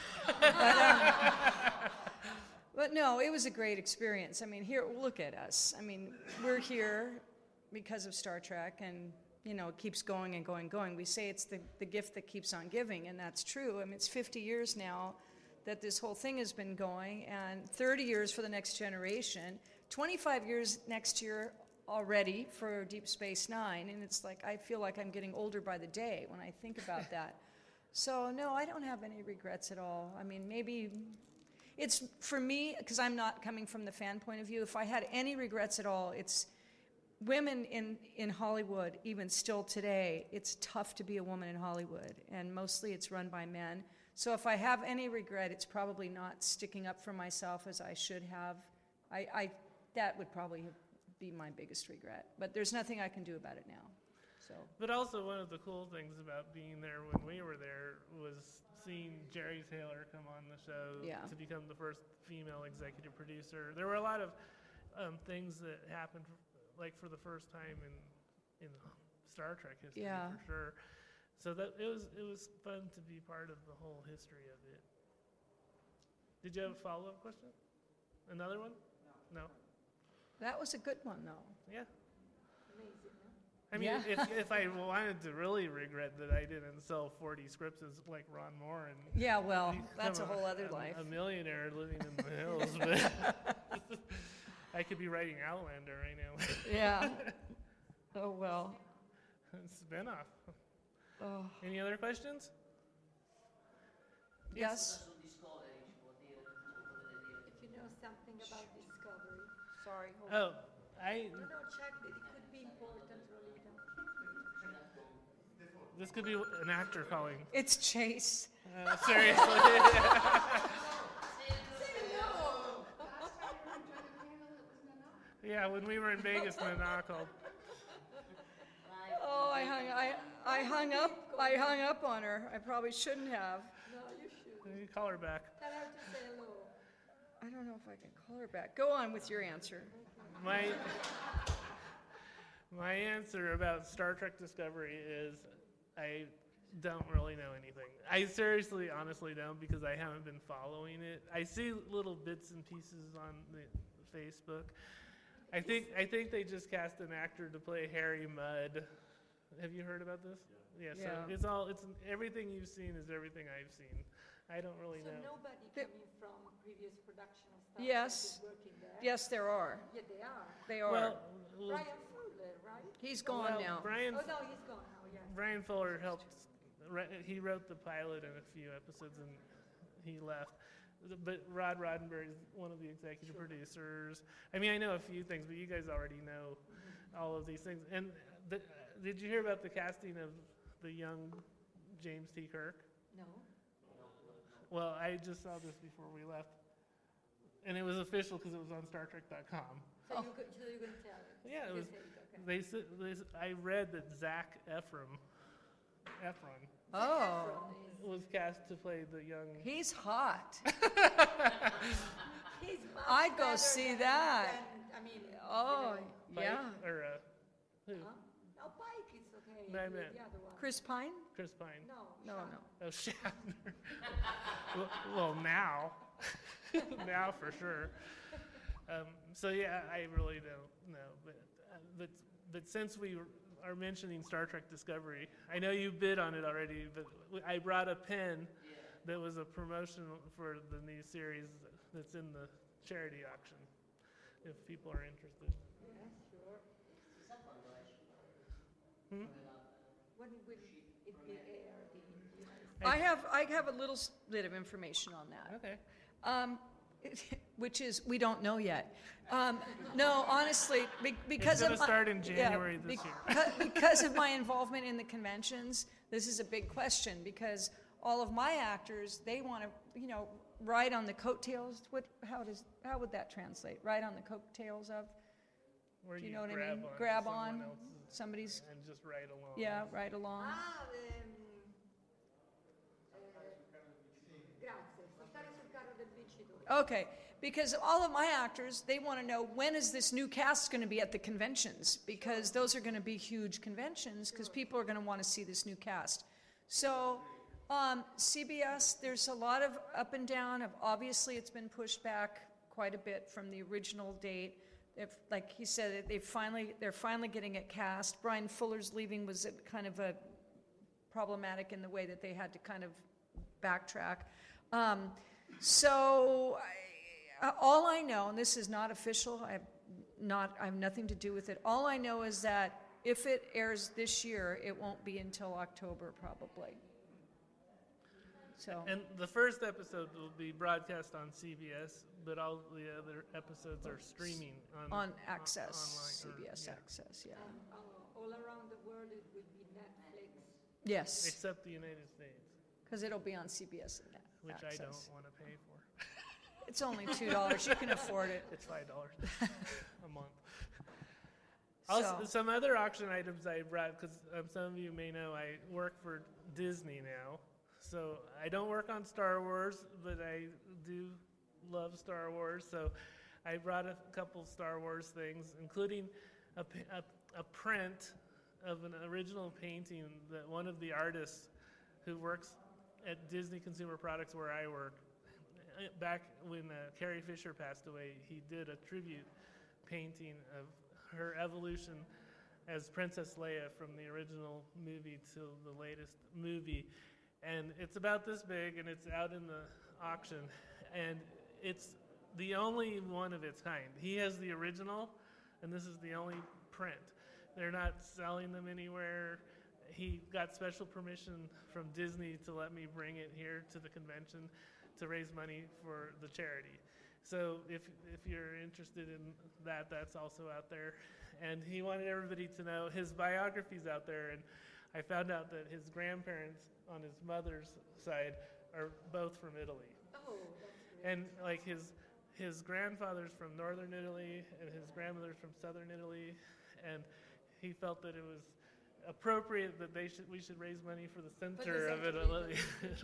But no, it was a great experience. I mean, here, look at us. I mean, we're here because of Star Trek, and you know, it keeps going and going and going. We say it's the gift that keeps on giving, and that's true. I mean, it's 50 years now that this whole thing has been going, and 30 years for the Next Generation, 25 years next year already for Deep Space Nine, and it's like, I feel like I'm getting older by the day when I think about that. So no, I don't have any regrets at all. I mean, maybe it's, for me, because I'm not coming from the fan point of view, if I had any regrets at all, it's women in Hollywood, even still today, it's tough to be a woman in Hollywood, and mostly it's run by men. So if I have any regret, it's probably not sticking up for myself as I should have. That would probably be my biggest regret. But there's nothing I can do about it now. So. But also one of the cool things about being there when we were there was seeing Jerry Taylor come on the show to become the first female executive producer. There were a lot of things that happened like for the first time in Star Trek history for sure. So that it was fun to be part of the whole history of it. Did you have a follow-up question? Another one? No. That was a good one, though. Yeah. Amazing, huh? I mean, if I wanted to really regret that I didn't sell 40 scripts as like Ron Moore and yeah, well, that's a whole other life. A millionaire living in the hills, but I could be writing Outlander right now. Yeah. Oh well. Spin-off. Oh. Any other questions? Yes. If you know something about Discovery. Sorry. Oh, No, check that. It could be important, Rolita. This could be an actor calling. It's Chase. Seriously. Yeah, when we were in Vegas, Nana called. Oh, I hung up on her. I probably shouldn't have. No, you should. You call her back. Tell her to say hello. I don't know if I can call her back. Go on with your answer. My answer about Star Trek Discovery is I don't really know anything. I seriously, honestly don't, because I haven't been following it. I see little bits and pieces on the Facebook. I think they just cast an actor to play Harry Mudd. Have you heard about this? Yeah. So it's everything you've seen is everything I've seen. I don't really know. So nobody coming from previous production of Star Yes. Trek is working there? Yes, there are. Yeah, they are. They are. Well, Brian Fuller, right? He's gone now. Oh, no, he's gone now, yes. Brian Fuller helped. He wrote the pilot and a few episodes, and he left. But Rod Roddenberry is one of the executive producers. I mean, I know a few things, but you guys already know all of these things. And did you hear about the casting of the young James T. Kirk? No. Well, I just saw this before we left. And it was official because it was on StarTrek.com. So you're going to tell it? Yeah, it was. Okay. I read that Zac Efron was cast to play the young. He's hot. He's much I'd go better see than- that. than- I mean, Oh, Pike, yeah. Or who? No, Pike is okay. No, I the meant other one. Chris Pine? Chris Pine. No. Oh, Shatner. well, now. Now for sure. So yeah, I really don't know. But since we are mentioning Star Trek Discovery, I know you bid on it already, but I brought a pen that was a promotion for the new series that's in the charity auction, if people are interested. Yeah, sure. Hmm? When will it be aired in the United States? I have a little bit of information on that. Okay. Which is, we don't know yet. No, honestly, because it's going of to start in January this year. Because of my involvement in the conventions, this is a big question, because all of my actors, they want to, ride on the coattails. How would that translate? Ride on the coattails of? Where do you you know what I grab mean? on Grab someone on else's somebody's. and just ride along. Yeah, ride along. Okay, because all of my actors, they want to know, when is this new cast going to be at the conventions? Because those are going to be huge conventions, because people are going to want to see this new cast. So CBS, there's a lot of up and down. Obviously, it's been pushed back quite a bit from the original date. Like he said, they're finally getting it cast. Brian Fuller's leaving was kind of a problematic in the way that they had to kind of backtrack. So all I know, and this is not official, I have nothing to do with it. All I know is that if it airs this year, it won't be until October probably. So. And the first episode will be broadcast on CBS, but all the other episodes are streaming on Access, online, CBS Access, yeah. All around the world, it will be Netflix. Yes. Except the United States. Because it'll be on CBS and Which Access. I don't want to pay for. It's only $2. You can afford it. It's $5 a month. Also, some other auction items I brought, because some of you may know I work for Disney now. So I don't work on Star Wars, but I do love Star Wars. So I brought a couple Star Wars things, including a print of an original painting that one of the artists who works at Disney Consumer Products, where I work, back when Carrie Fisher passed away, he did a tribute painting of her evolution as Princess Leia from the original movie to the latest movie. And it's about this big, and it's out in the auction, and it's the only one of its kind. He has the original, and this is the only print. They're not selling them anywhere. He got special permission from Disney to let me bring it here to the convention to raise money for the charity. So if you're interested in that, that's also out there. And he wanted everybody to know his biography's out there, and I found out that his grandparents on his mother's side are both from Italy. Oh, that's great. And like his grandfather's from northern Italy and his grandmother's from southern Italy, and he felt that it was appropriate that we should raise money for the center of Italy.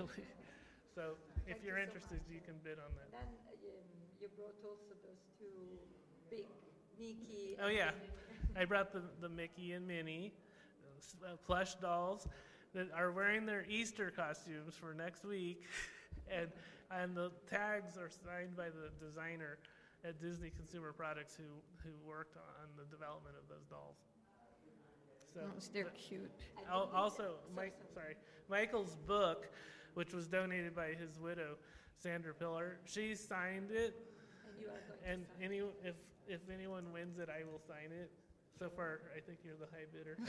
So if you're interested, you can bid on that. Then you brought also those two big Mickey. Oh yeah, I brought the Mickey and Minnie plush dolls that are wearing their Easter costumes for next week, and the tags are signed by the designer at Disney Consumer Products who worked on the development of those dolls. So they're cute. Also, Michael's book, which was donated by his widow, Sandra Pillar, she signed it. And if anyone wins it, I will sign it. So far, I think you're the high bidder.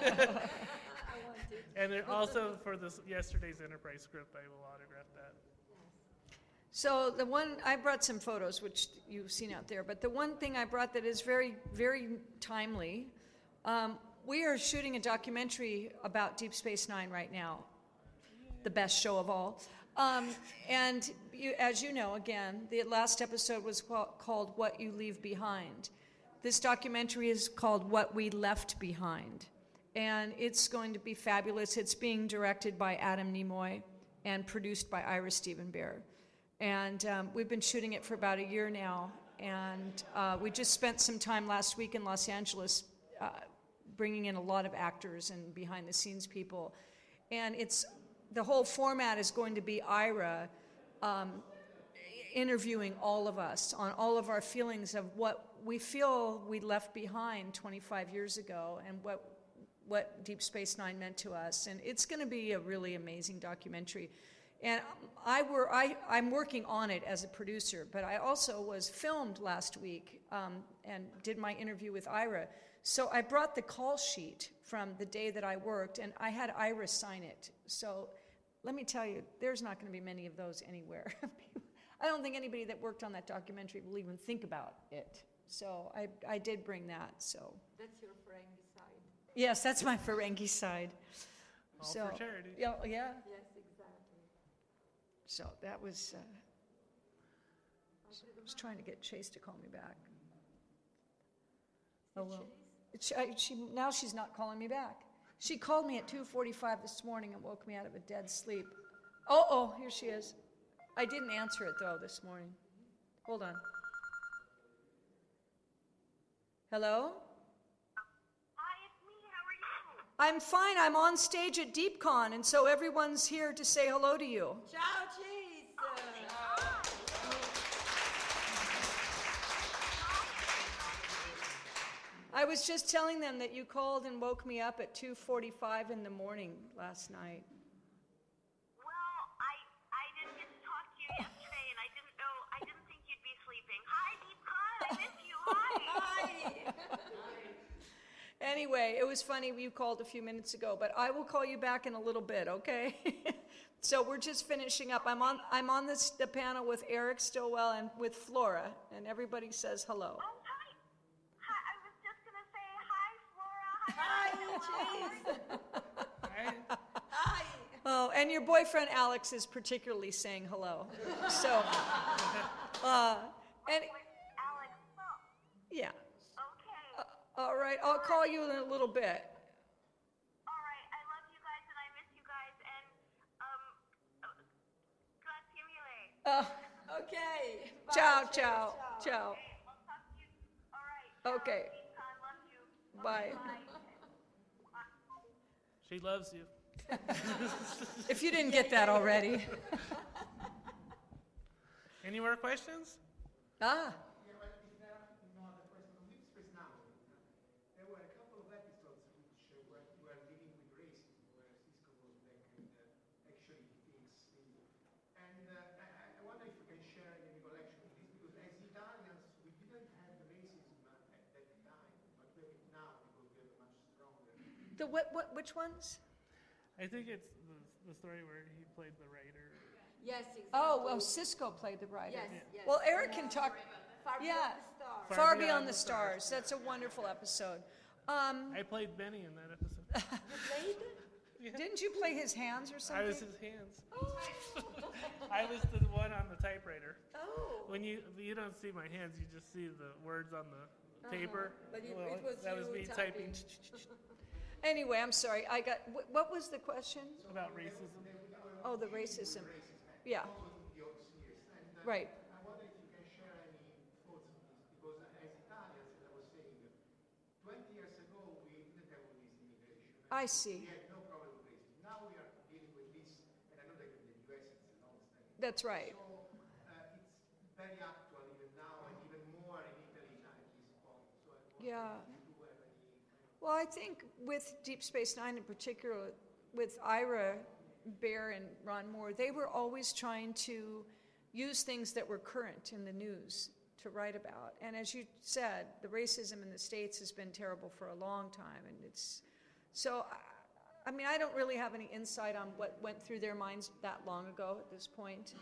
I want it. And then also for yesterday's Enterprise script, I will autograph that. So I brought some photos, which you've seen out there, but the one thing I brought that is very, very timely, we are shooting a documentary about Deep Space Nine right now, the best show of all. And as you know, again, the last episode was called What You Leave Behind. This documentary is called What We Left Behind. And it's going to be fabulous. It's being directed by Adam Nimoy and produced by Ira Steven Behr. And we've been shooting it for about a year now. And we just spent some time last week in Los Angeles bringing in a lot of actors and behind-the-scenes people. And the whole format is going to be Ira interviewing all of us on all of our feelings of what we feel we left behind 25 years ago and what Deep Space Nine meant to us. And it's going to be a really amazing documentary. And I'm working on it as a producer, but I also was filmed last week and did my interview with Ira. So I brought the call sheet from the day that I worked, and I had Ira sign it. So let me tell you, there's not going to be many of those anywhere. I don't think anybody that worked on that documentary will even think about it. So I did bring that, so. That's your Ferengi side. Yes, that's my Ferengi side. All for charity. Yeah. Yes, exactly. So that was, I was trying to get Chase to call me back. Oh, well. Now she's not calling me back. She called me at 2:45 this morning and woke me out of a dead sleep. Oh, here she is. I didn't answer it, though, this morning. Hold on. Hello? Hi, it's me. How are you? I'm fine. I'm on stage at DeepCon, and so everyone's here to say hello to you. Ciao, Cheese! I was just telling them that you called and woke me up at 2:45 in the morning last night. Well, I didn't get to talk to you yesterday, and I didn't think you'd be sleeping. Hi, DeepCon. I miss you. Hi. Anyway, it was funny you called a few minutes ago, but I will call you back in a little bit, okay? So we're just finishing up. I'm on the panel with Eric Stillwell and with Flora, and everybody says hello. Oh, hi. Hi. I was just gonna say hi, Flora. Hi, Cheese. Hi. Oh, and your boyfriend Alex is particularly saying hello. So, and Alex. yeah. Okay. All right, I'll call you in a little bit. All right. I love you guys, and I miss you guys, and grazie mille. Okay. Bye, Ciao, Cheese. ciao, ciao. Okay, I'll talk to you. All right. Okay. DeepCon, love you. Bye. She loves you. If you didn't get that already. Any more questions? Ah. Yeah, well, if there are no other questions on Deep Space Nine, there were a couple of episodes which were dealing with racism, where Cisco goes back and actually thinks the. And I wonder if you can share any recollection of this, because as Italians, we didn't have racism at that time, but we have it now because we have a much stronger. Which ones? I think it's the story where he played the writer. Yes, exactly. Oh, well, Cisco played the writer. Yes. Well, Eric can talk. Far Yeah. Beyond the Stars. Far Beyond the Stars. That's a wonderful episode. I played Benny in that episode. You played? Didn't you play his hands or something? I was his hands. I was the one on the typewriter. Oh. When you don't see my hands, you just see the words on the paper. But it Well, was that was you me typing. Anyway, I'm sorry. I got. What was the question? About racism. Oh, the racism. Yeah. Right. I wonder if you can share any thoughts on this, because as Italians, as I was saying, 20 years ago we didn't have all this immigration. I see. We had no problem with racism. Now we are dealing with this, and I know that in the US it's an understanding. That's right. So it's very actual even now, and even more in Italy at this point. So I wonder Yeah. if you have any. Well, I think with Deep Space Nine in particular, with Ira Bear and Ron Moore, they were always trying to use things that were current in the news to write about. And as you said, the racism in the States has been terrible for a long time. And it's so, I mean, I don't really have any insight on what went through their minds that long ago at this point.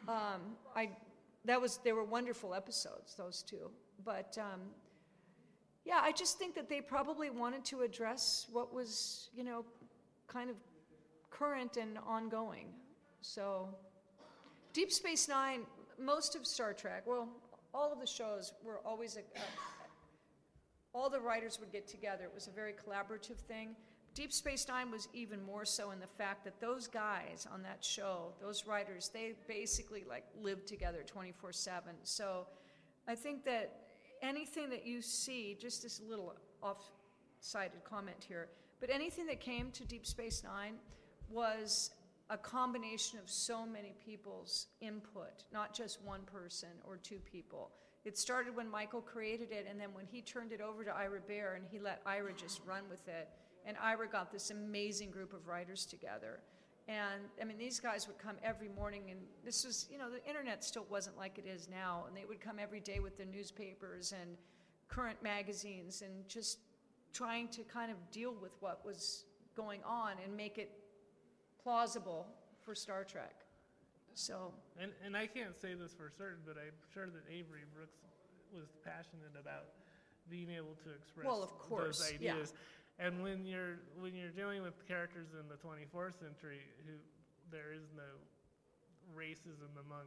They were wonderful episodes, those two. But yeah, I just think that they probably wanted to address what was, kind of current and ongoing. So Deep Space Nine, most of Star Trek, well, all of the shows were always all the writers would get together. It was a very collaborative thing. Deep Space Nine was even more so in the fact that those guys on that show, those writers, they basically lived together 24/7. So I think that anything that you see, just this little off-sided comment here, but anything that came to Deep Space Nine was a combination of so many people's input, not just one person or two people. It started when Michael created it, and then when he turned it over to Ira Bear and he let Ira just run with it, and Ira got this amazing group of writers together. And I mean, these guys would come every morning, and this was, the internet still wasn't like it is now, and they would come every day with their newspapers and current magazines and just trying to kind of deal with what was going on and make it plausible for Star Trek. So, and I can't say this for certain, but I'm sure that Avery Brooks was passionate about being able to express Well, of course, those ideas. And when you're dealing with characters in the 24th century, there is no racism among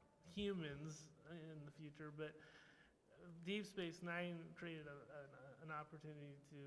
humans in the future, but Deep Space Nine created an opportunity to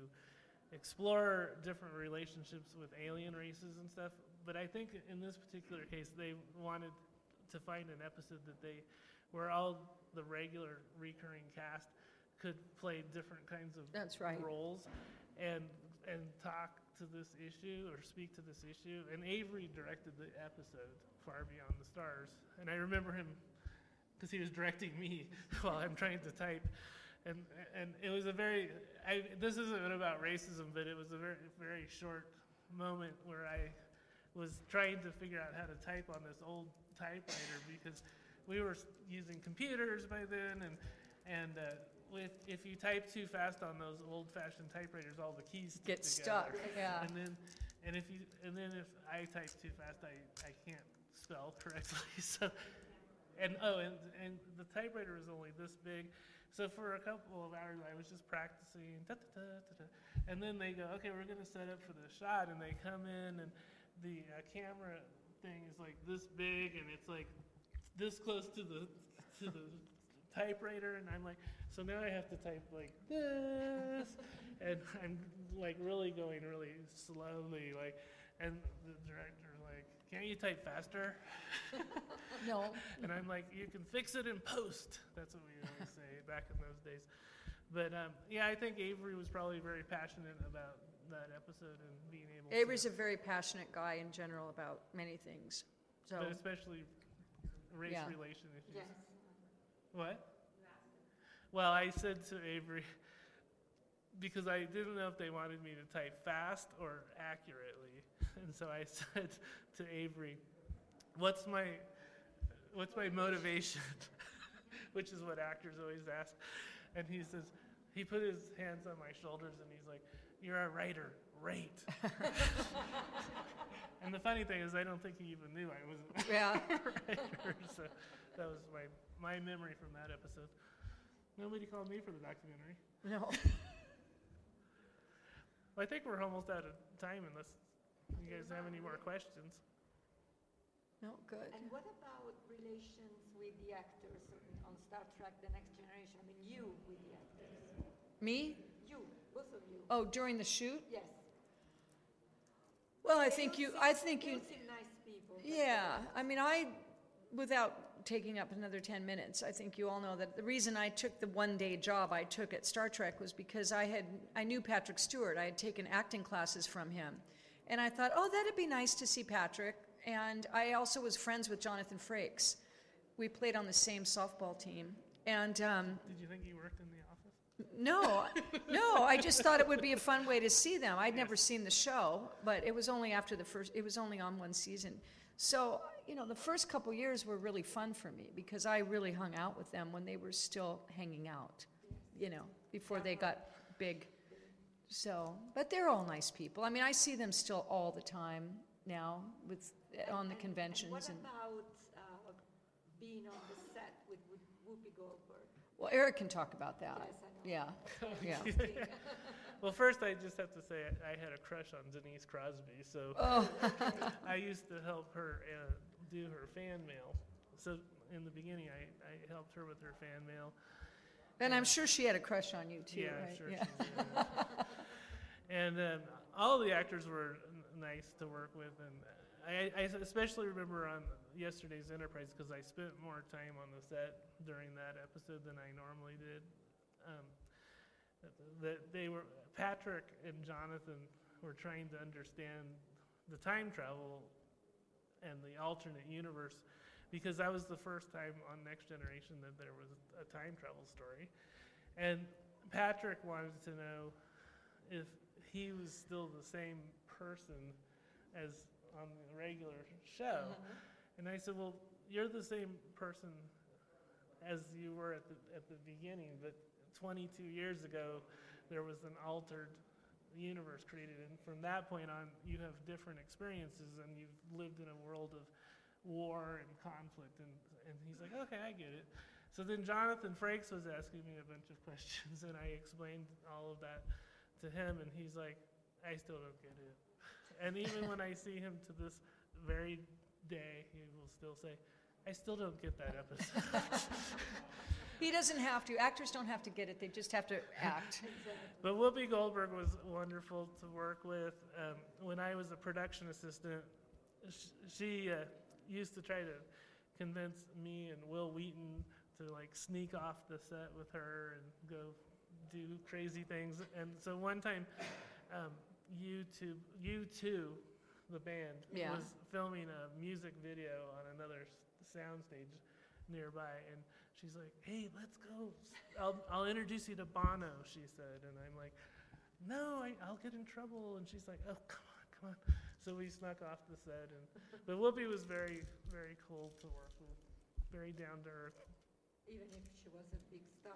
explore different relationships with alien races and stuff. But I think in this particular case, they wanted to find an episode where all the regular recurring cast could play different kinds of roles and talk to this issue or speak to this issue. And Avery directed the episode Far Beyond the Stars, and I remember him because he was directing me while I'm trying to type. And it was this isn't about racism, but it was a very, very short moment where I was trying to figure out how to type on this old typewriter because we were using computers by then, and if you type too fast on those old-fashioned typewriters, all the keys get together. stuck. Yeah. And if I type too fast, I can't spell correctly. So, and the typewriter was only this big. So for a couple of hours, I was just practicing, and then they go, okay, we're gonna set up for the shot, and they come in, and the camera thing is like this big, and it's like this close to the typewriter, and I'm like, so now I have to type like this, and I'm like really going really slowly, like, and the director's like, can't you type faster? No. And I'm like, you can fix it in post. That's what we always say back in those days. But yeah, I think Avery was probably very passionate about that episode and being able Avery's a very passionate guy in general about many things. So, but especially race relation issues. Yes. What? Well, I said to Avery, because I didn't know if they wanted me to type fast or accurately, and so I said to Avery, what's my motivation? Which is what actors always ask. And he says, he put his hands on my shoulders and he's like, you're a writer, rate. And the funny thing is I don't think he even knew I wasn't a writer. So that was my memory from that episode. Nobody called me for the documentary. No. Well, I think we're almost out of time unless you guys have any more questions. No, good. And what about relations with the actors on Star Trek The Next Generation? I mean, you with the actors. Me? You, both of you. Oh, during the shoot? Yes. Well, I think you seem nice people. Yeah, I mean, without taking up another 10 minutes, I think you all know that the reason I took the one-day job I took at Star Trek was because I knew Patrick Stewart. I had taken acting classes from him. And I thought, oh, that'd be nice to see Patrick. And I also was friends with Jonathan Frakes. We played on the same softball team. And did you think he worked in the office? No, I just thought it would be a fun way to see them. I'd never seen the show, but it was only it was only on one season. So, the first couple years were really fun for me because I really hung out with them when they were still hanging out, before they got big. So, but they're all nice people. I mean, I see them still all the time now on the conventions. And what about being on the set with Whoopi Goldberg? Well, Eric can talk about that. Yes, I know. Yeah. Well, first I just have to say I had a crush on Denise Crosby, so I used to help her do her fan mail. So in the beginning, I helped her with her fan mail. And I'm sure she had a crush on you too, yeah, right? Sure she did. And all the actors were nice to work with, and I especially remember on yesterday's Enterprise because I spent more time on the set during that episode than I normally did. Patrick and Jonathan were trying to understand the time travel and the alternate universe because that was the first time on Next Generation that there was a time travel story. And Patrick wanted to know if he was still the same person as on the regular show. Mm-hmm. And I said, well, you're the same person as you were at the beginning, but 22 years ago, there was an altered universe created. And from that point on, you have different experiences and you've lived in a world of war and conflict, and he's like, okay, I get it. So then Jonathan Frakes was asking me a bunch of questions, and I explained all of that to him, and he's like, I still don't get it. And even when I see him to this very day, he will still say, I still don't get that episode. He doesn't have to. Actors don't have to get it. They just have to act. But Whoopi Goldberg was wonderful to work with. When I was a production assistant, she used to try to convince me and Will Wheaton to like sneak off the set with her and go do crazy things. And so one time, U2, the band, was filming a music video on another soundstage nearby, and she's like, hey, let's go. I'll introduce you to Bono, she said. And I'm like, no, I'll get in trouble. And she's like, oh, come on. So we snuck off the set. But Whoopi was very, very cool to work with, very down to earth. Even if she was a big star.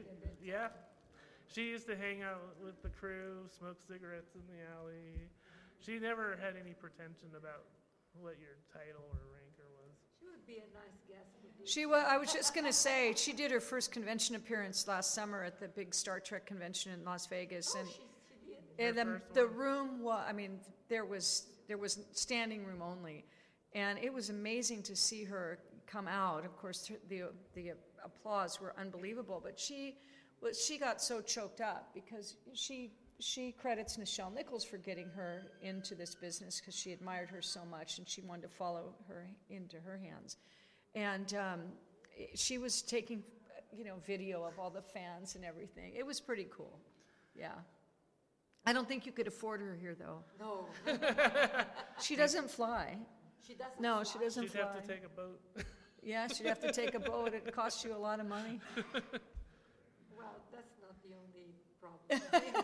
She used to hang out with the crew, smoke cigarettes in the alley. She never had any pretension about what your title or rank was. She would be a nice guest. I was just going to say, she did her first convention appearance last summer at the big Star Trek convention in Las Vegas, and the room was, there was standing room only, and it was amazing to see her come out. Of course, the applause were unbelievable, but she got so choked up because she credits Nichelle Nichols for getting her into this business because she admired her so much and she wanted to follow her into her hands. And she was taking, video of all the fans and everything. It was pretty cool. Yeah. I don't think you could afford her here, though. No. She doesn't fly. She doesn't No, fly? she doesn't She'd fly. have to take a boat. Yeah, she'd have to take a boat. It costs you a lot of money. Well, that's not the only problem.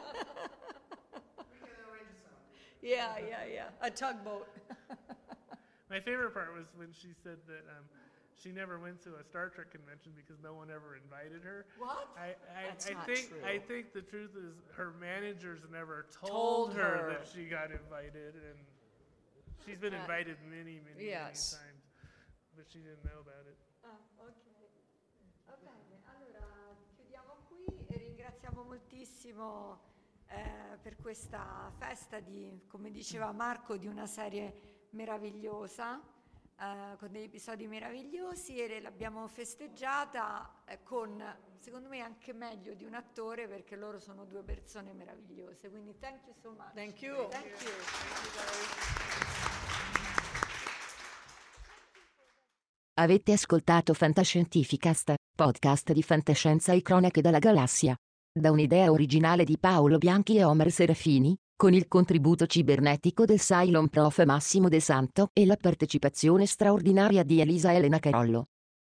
Yeah. A tugboat. My favorite part was when she said that she never went to a Star Trek convention because no one ever invited her. What? That's not true. I think the truth is her managers never told her that she got invited, and she's been invited many times, but she didn't know about it. Ok. Va bene, allora chiudiamo qui e ringraziamo moltissimo per questa festa come diceva Marco, di una serie meravigliosa, con degli episodi meravigliosi, e l'abbiamo festeggiata con, secondo me, anche meglio di un attore, perché loro sono due persone meravigliose. Quindi thank you so much. Thank you. Thank you. Avete ascoltato Fantascientificast, podcast di fantascienza e cronache dalla galassia. Da un'idea originale di Paolo Bianchi e Omer Serafini, con il contributo cibernetico del Cylon Prof Massimo De Santo e la partecipazione straordinaria di Elisa Elena Carollo.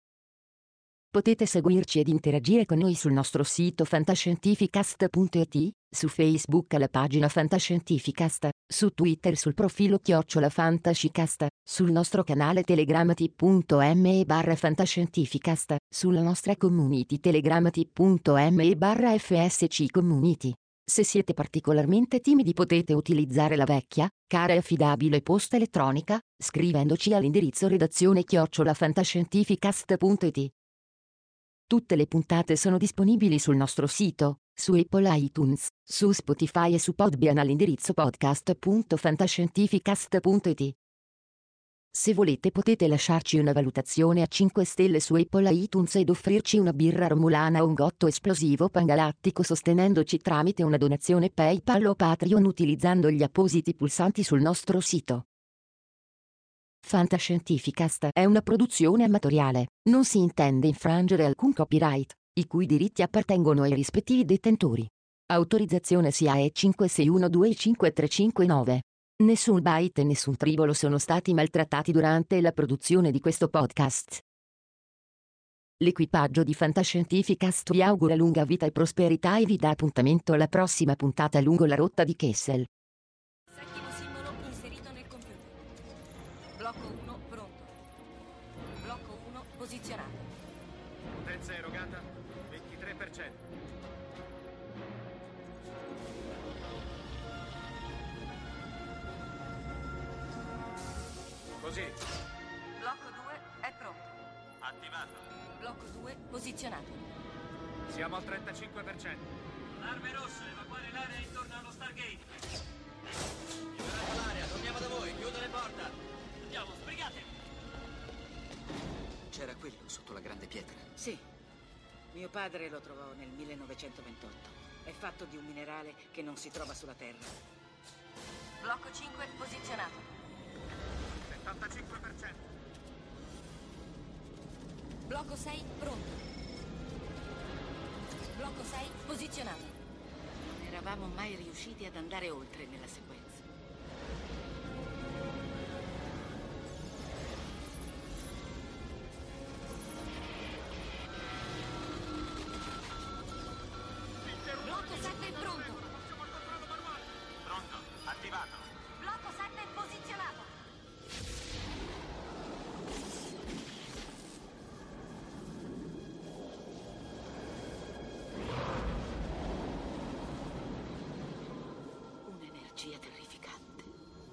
Potete seguirci ed interagire con noi sul nostro sito fantascientificast.it, su Facebook alla pagina Fantascientificast, su Twitter sul profilo @fantascicast, sul nostro canale Telegram t.me/fantascientificast, sulla nostra community Telegram t.me/fsc community. Se siete particolarmente timidi potete utilizzare la vecchia, cara e affidabile posta elettronica, scrivendoci all'indirizzo redazione@fantascientificast.it. Tutte le puntate sono disponibili sul nostro sito, su Apple iTunes, su Spotify e su Podbean all'indirizzo podcast.fantascientificast.it. Se volete potete lasciarci una valutazione a 5 stelle su Apple iTunes ed offrirci una birra romulana o un gotto esplosivo pangalattico sostenendoci tramite una donazione PayPal o Patreon utilizzando gli appositi pulsanti sul nostro sito. Fantascientificast è una produzione amatoriale, non si intende infrangere alcun copyright, i cui diritti appartengono ai rispettivi detentori. Autorizzazione SIAE 56125359. Nessun byte e nessun tribolo sono stati maltrattati durante la produzione di questo podcast. L'equipaggio di Fantascientificast vi augura lunga vita e prosperità e vi dà appuntamento alla prossima puntata lungo la rotta di Kessel. Settimo simbolo inserito nel computer. Blocco 1 pronto. Blocco 1 posizionato. Potenza erogata 23%. Così. Attivato. Blocco 2 posizionato. Siamo al 35%. Arme rosse, evacuare l'area intorno allo Stargate. Liberate l'area, torniamo da voi, chiudo le porte. Andiamo, sbrigate. C'era quello sotto la grande pietra. Sì. Mio padre lo trovò nel 1928. È fatto di un minerale che non si trova sulla Terra. Blocco 5 posizionato. 75%. Blocco 6 pronto. Blocco 6 posizionato. Non eravamo mai riusciti ad andare oltre nella sequenza. Blocco 7 pronto. Pronto, attivato. Blocco 7 posizionato. Un'energia terrificante.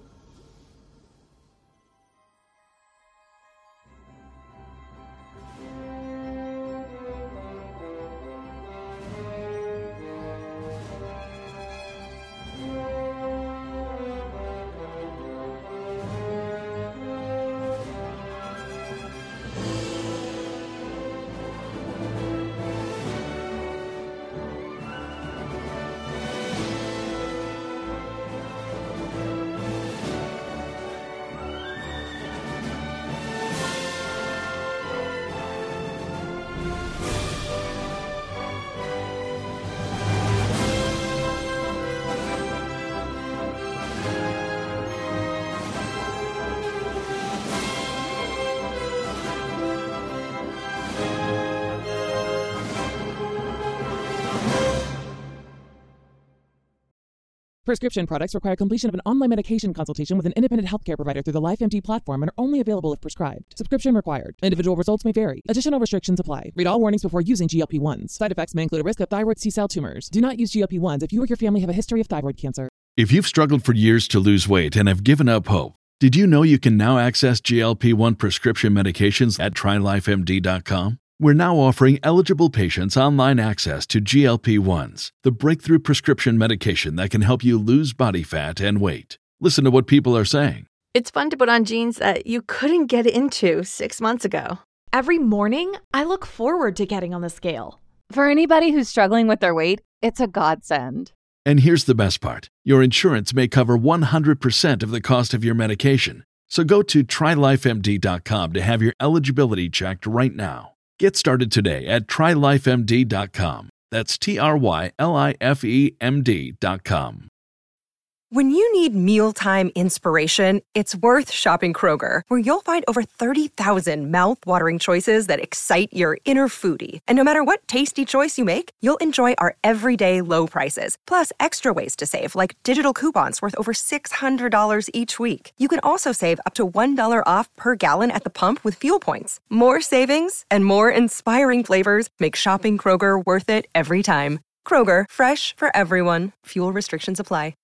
Prescription products require completion of an online medication consultation with an independent healthcare provider through the LifeMD platform and are only available if prescribed. Subscription required. Individual results may vary. Additional restrictions apply. Read all warnings before using GLP-1s. Side effects may include a risk of thyroid C-cell tumors. Do not use GLP-1s if you or your family have a history of thyroid cancer. If you've struggled for years to lose weight and have given up hope, did you know you can now access GLP-1 prescription medications at TryLifeMD.com? We're now offering eligible patients online access to GLP-1s, the breakthrough prescription medication that can help you lose body fat and weight. Listen to what people are saying. It's fun to put on jeans that you couldn't get into 6 months ago. Every morning, I look forward to getting on the scale. For anybody who's struggling with their weight, it's a godsend. And here's the best part. Your insurance may cover 100% of the cost of your medication. So go to TryLifeMD.com to have your eligibility checked right now. Get started today at TryLifeMD.com. That's TryLifeMD.com. When you need mealtime inspiration, it's worth shopping Kroger, where you'll find over 30,000 mouth-watering choices that excite your inner foodie. And no matter what tasty choice you make, you'll enjoy our everyday low prices, plus extra ways to save, like digital coupons worth over $600 each week. You can also save up to $1 off per gallon at the pump with fuel points. More savings and more inspiring flavors make shopping Kroger worth it every time. Kroger, fresh for everyone. Fuel restrictions apply.